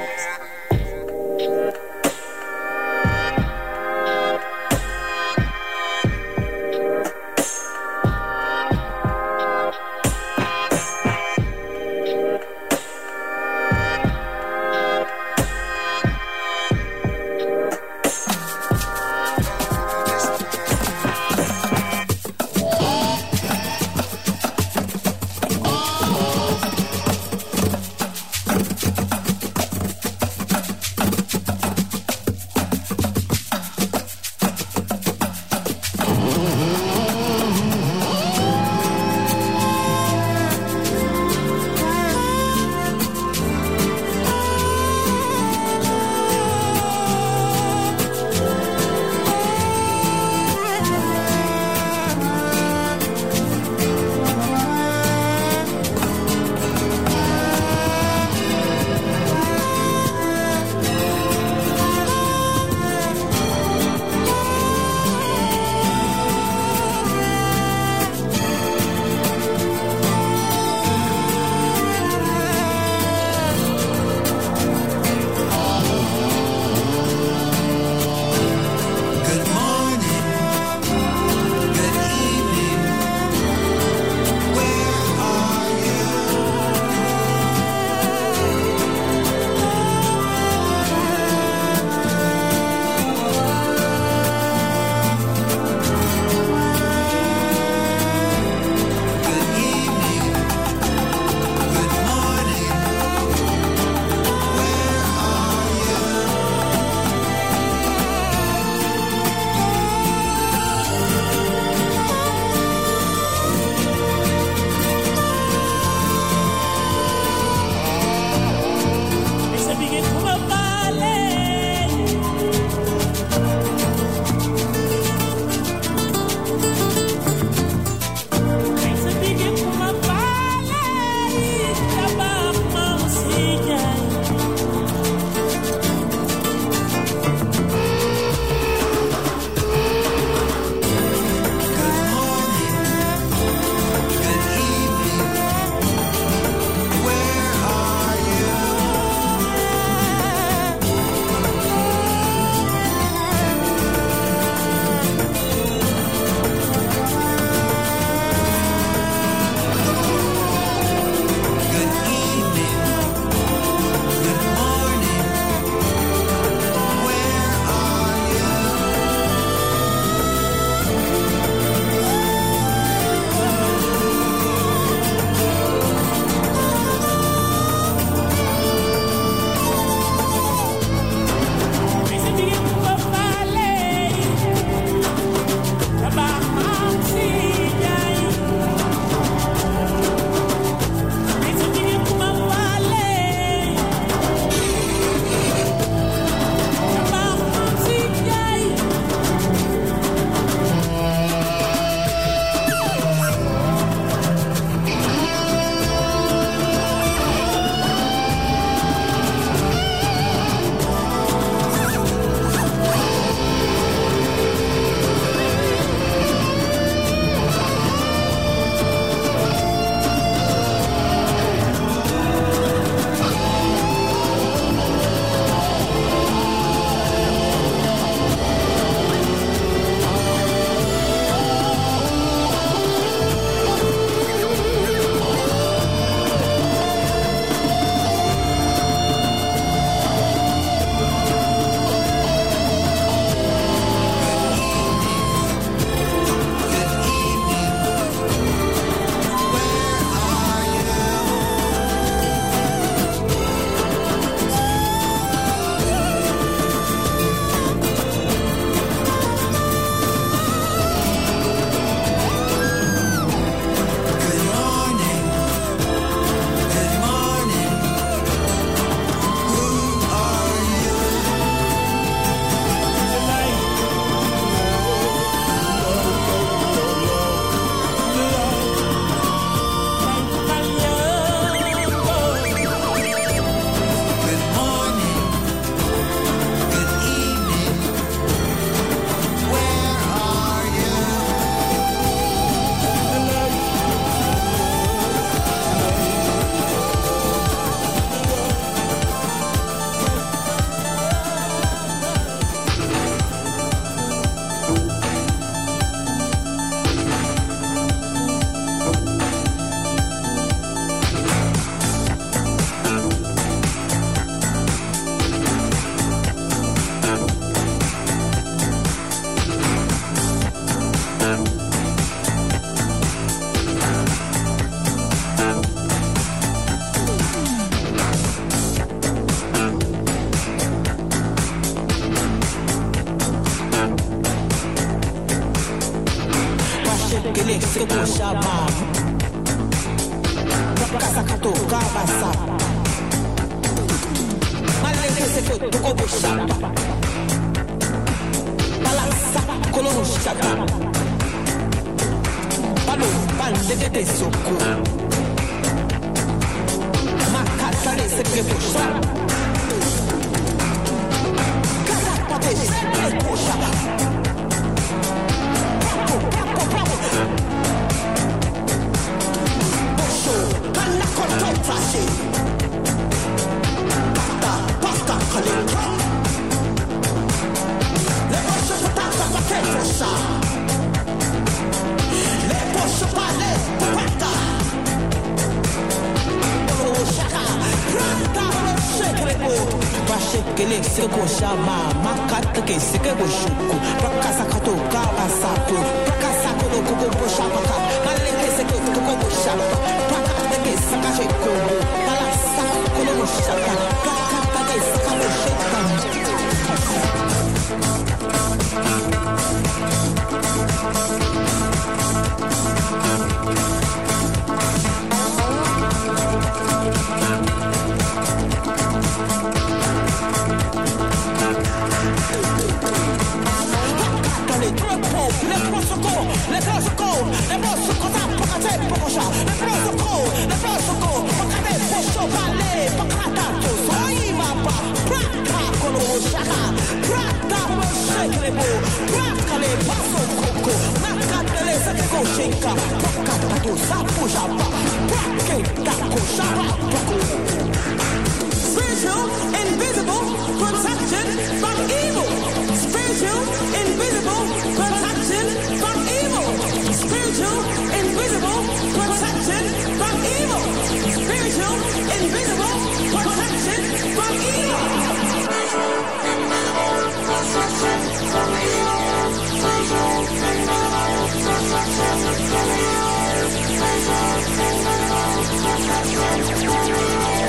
Prakasa kato kabasa. Maleke seko toko boshaba. Balasa kolo shaka. Palo pande de te soko. Makata le seke boshaba. Kata pate seke boshaba. Bravo, bravo, bravo. Bosho, kana koto trashi. Kata, pata kalitra. Le bosho patata paketo sa. Le bosho pale patata. Oh shaka, prata lo shake go. Basheke le seko shama, makata ke seke go shuku. Prakasa kato kawasaku, prakasa kono koko boshaka. Maleke seko koko boshaka. Prakata ke saka sheko, balasa kono boshaka. Prakata ke saka boshaka. Le tropo, le prosoco, le prosoco, le prosoco, pacate, pocosha, le prosoco, le prosoco, pacate, pocho, vale, pacatato, soy mapa, praca, colo, shaka, praca, shake, praca, le paso, coco, macate, le saco, shake, pacatato, sapo, japa, praque, taco, shaba, poco. Spiritual, invisible, protection from evil. Spiritual, invisible, protection from evil. Spiritual, invisible, protection from evil. Spiritual, invisible, protection from evil. Spiritual, invisible, protection from evil.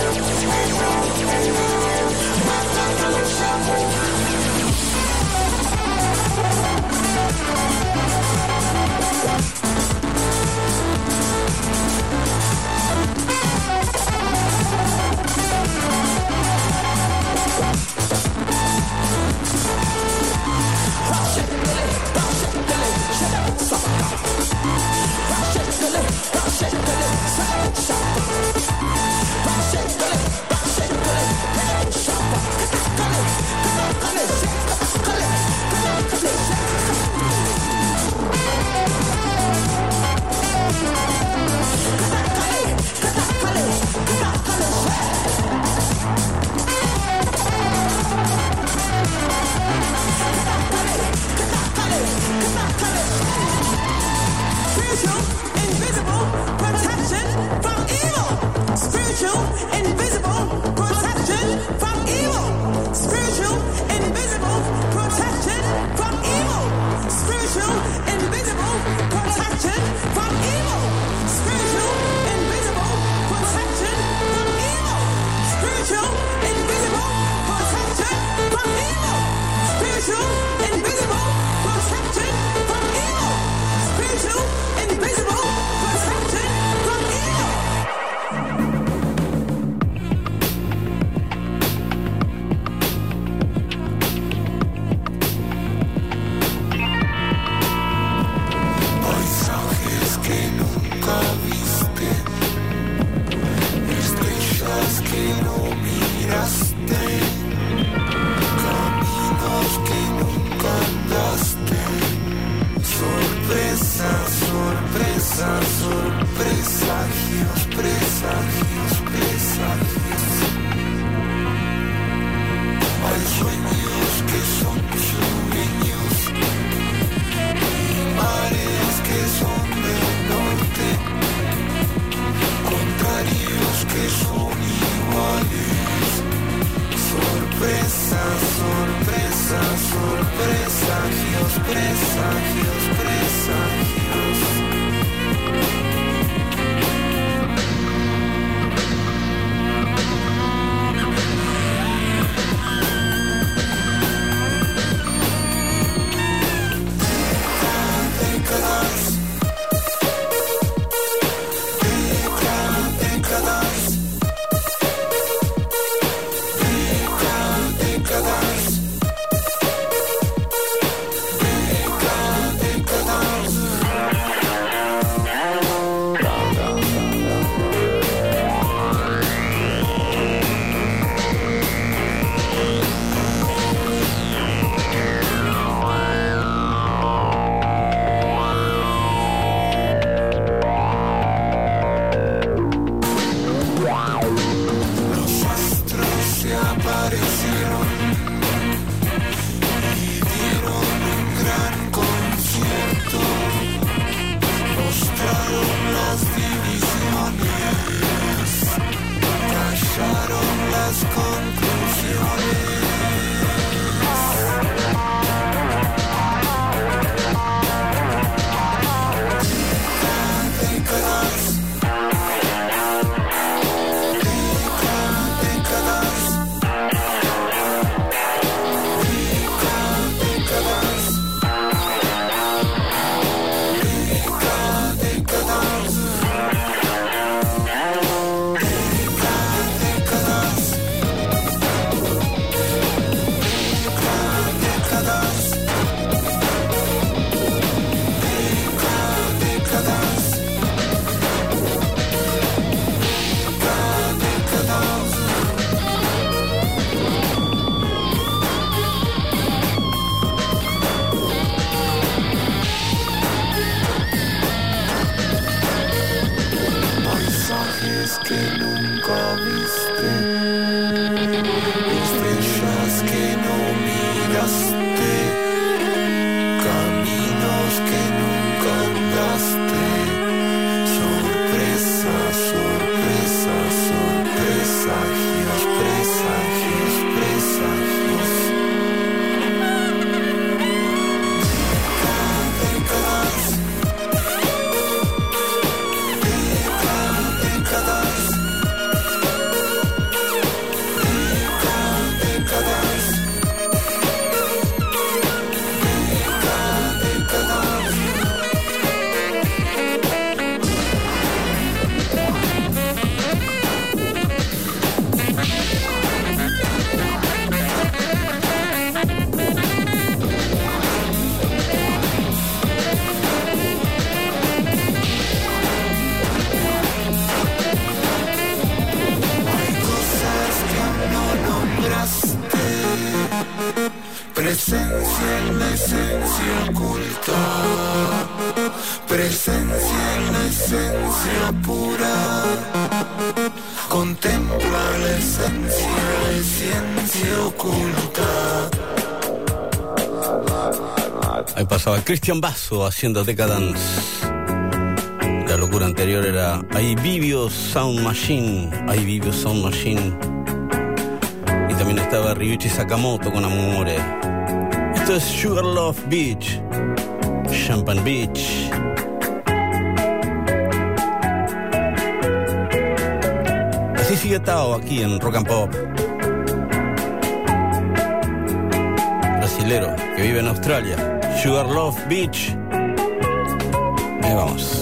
paisajes que nunca viste, estrellas que no miraste, caminos que nunca andaste, sorpresas, sorpresas, sorpresagios, presagios, presagios. Décadas, décadas, décadas, presencia en la esencia oculta, presencia en la esencia pura, contempla la esencia, la esencia oculta. Ahí pasaba Cristian Basso haciendo Decadence. La locura anterior era I Vivio Sound Machine, I Vivio Sound Machine. Y también estaba Ryuichi Sakamoto con Amore. Esto es Sugarloaf Beach, Champagne Beach. Así sigue Tao aquí en Rock and Pop. Brasilero que vive en Australia. Sugarloaf Beach. Ahí vamos.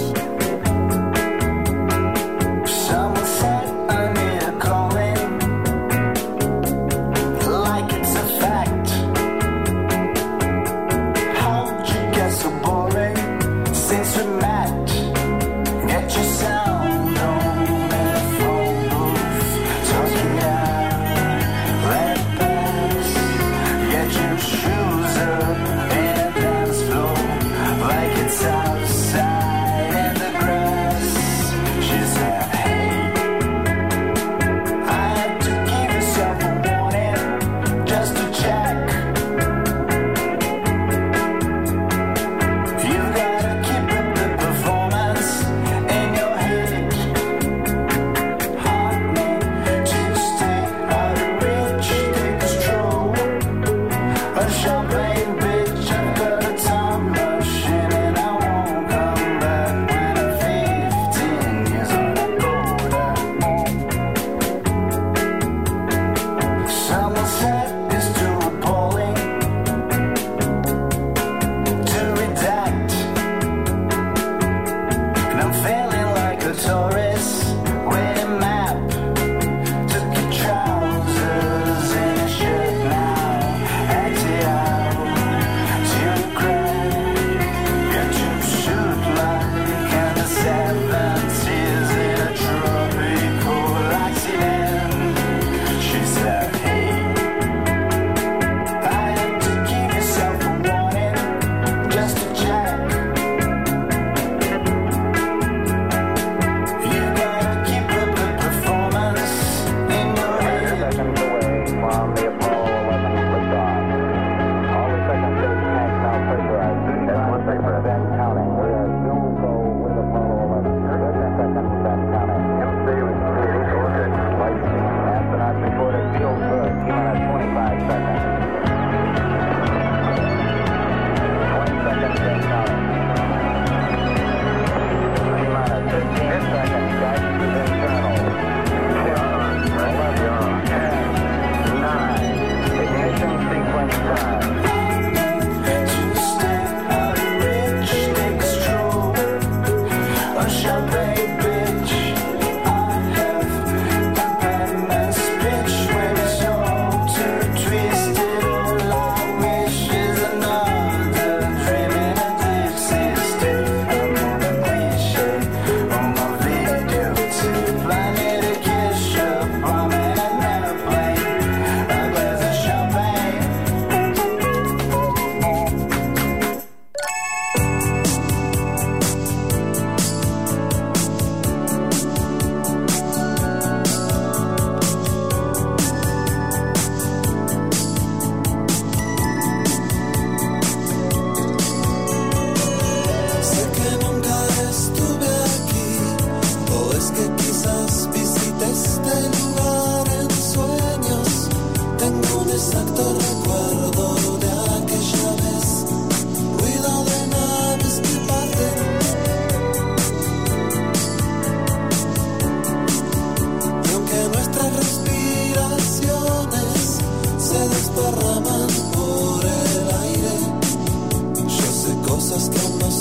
Outside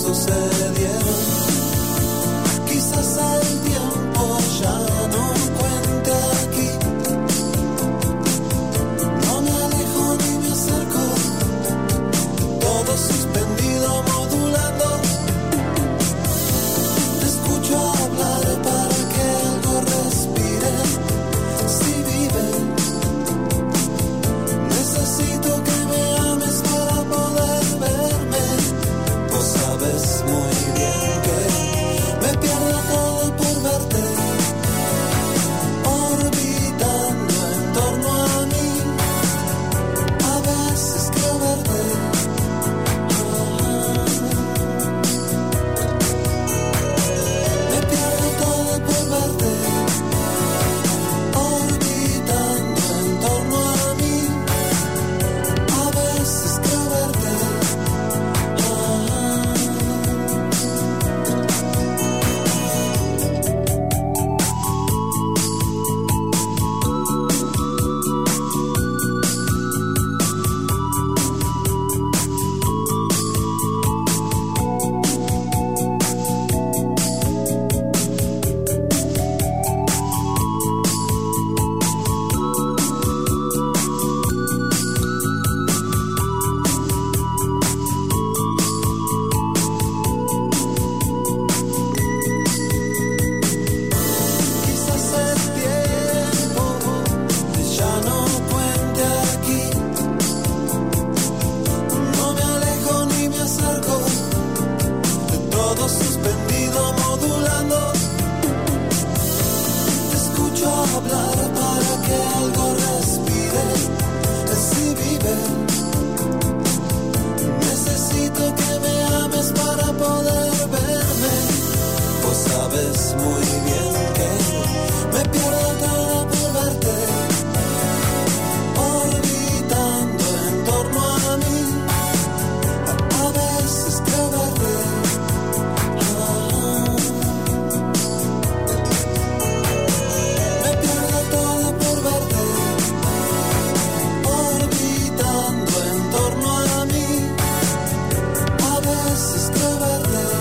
sucedieron. Quizás el tiempo ya no cuente aquí. No me alejo ni me acerco, todo suspendido modulando. Te escucho hablar para que algo respire. Si viven, necesito que me ames para poder verme. Vos sabes muy bien que me pierdo todo por verte, orbitando en torno a mí. A veces creo verte. Me pierdo todo por verte, orbitando en torno a mí. A veces creo verte. Quizás el tiempo ya no cuente aquí. No me alejo ni me acerco, de todo suspendido modulando. Te escucho hablar para que algo respire. Si vive, necesito que me ames para poder verme. Vos sabes muy bien que me pierdo todo por verte, orbitando en torno a mí. A veces creo verte. Me pierdo todo por verte, orbitando en torno a mí. A veces creo verte.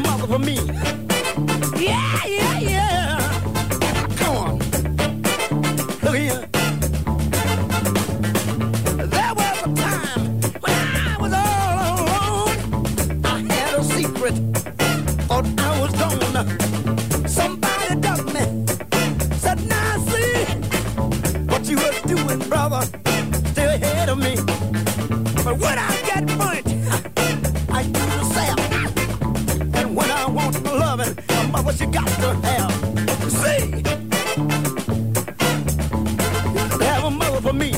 mother for me. Yeah, yeah, yeah. Come on. Look here. There was a time when I was all alone. I had a secret. Thought I was gone. Somebody dug me. Said, now see what you were doing, brother. Still ahead of me. But when I get burnt, I do the same. And when I want my loving, my mother, she got to have. See, to have a mother for me.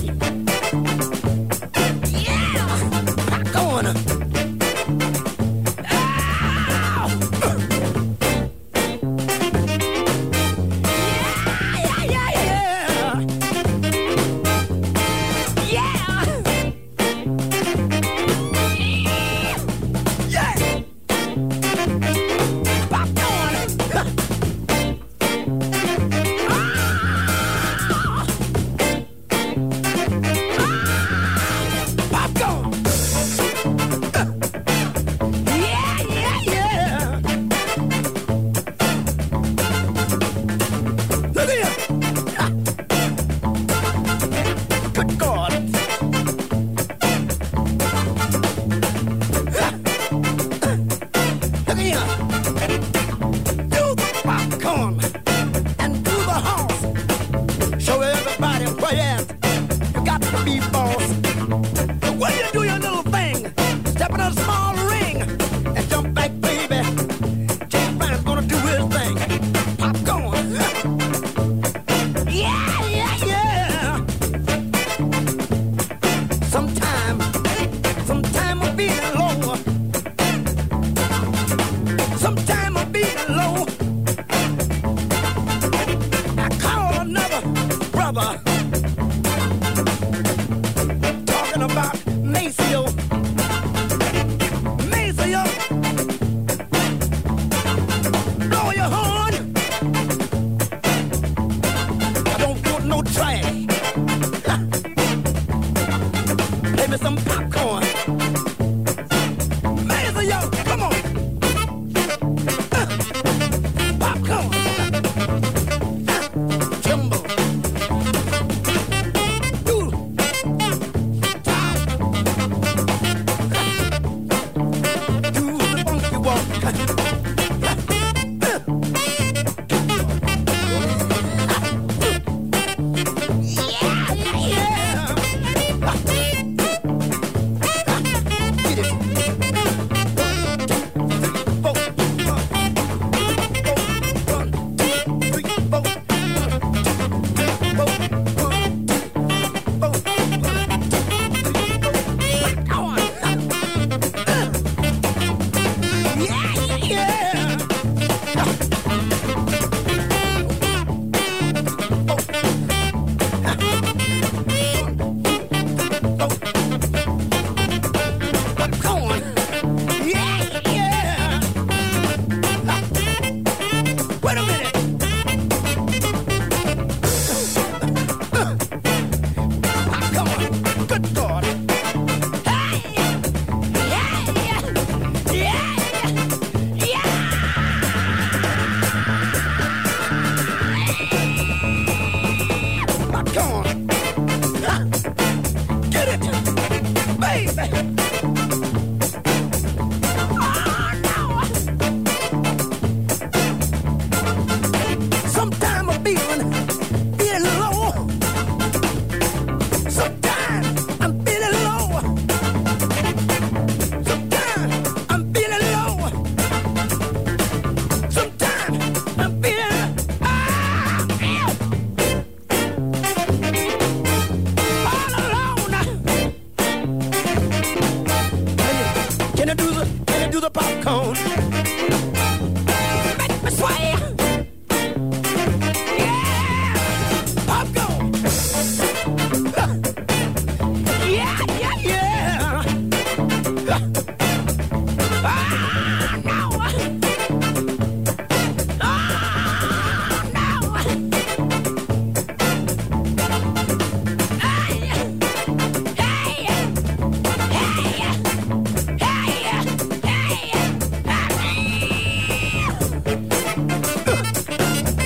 Yeah, go on.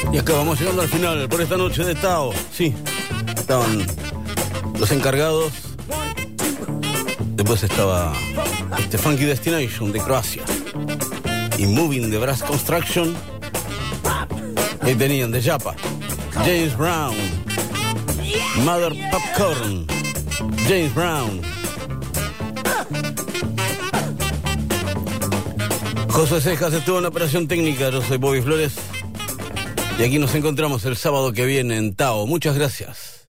Y acá vamos llegando al final por esta noche de Tao. Sí, estaban los encargados. Después estaba este Funky Destination de Croacia y Moving de Brass Construction. Y tenían de Japa James Brown, Mother Popcorn, James Brown, José Cejas estuvo en la operación técnica. Yo soy Bobby Flores y aquí nos encontramos el sábado que viene en Tao. Muchas gracias.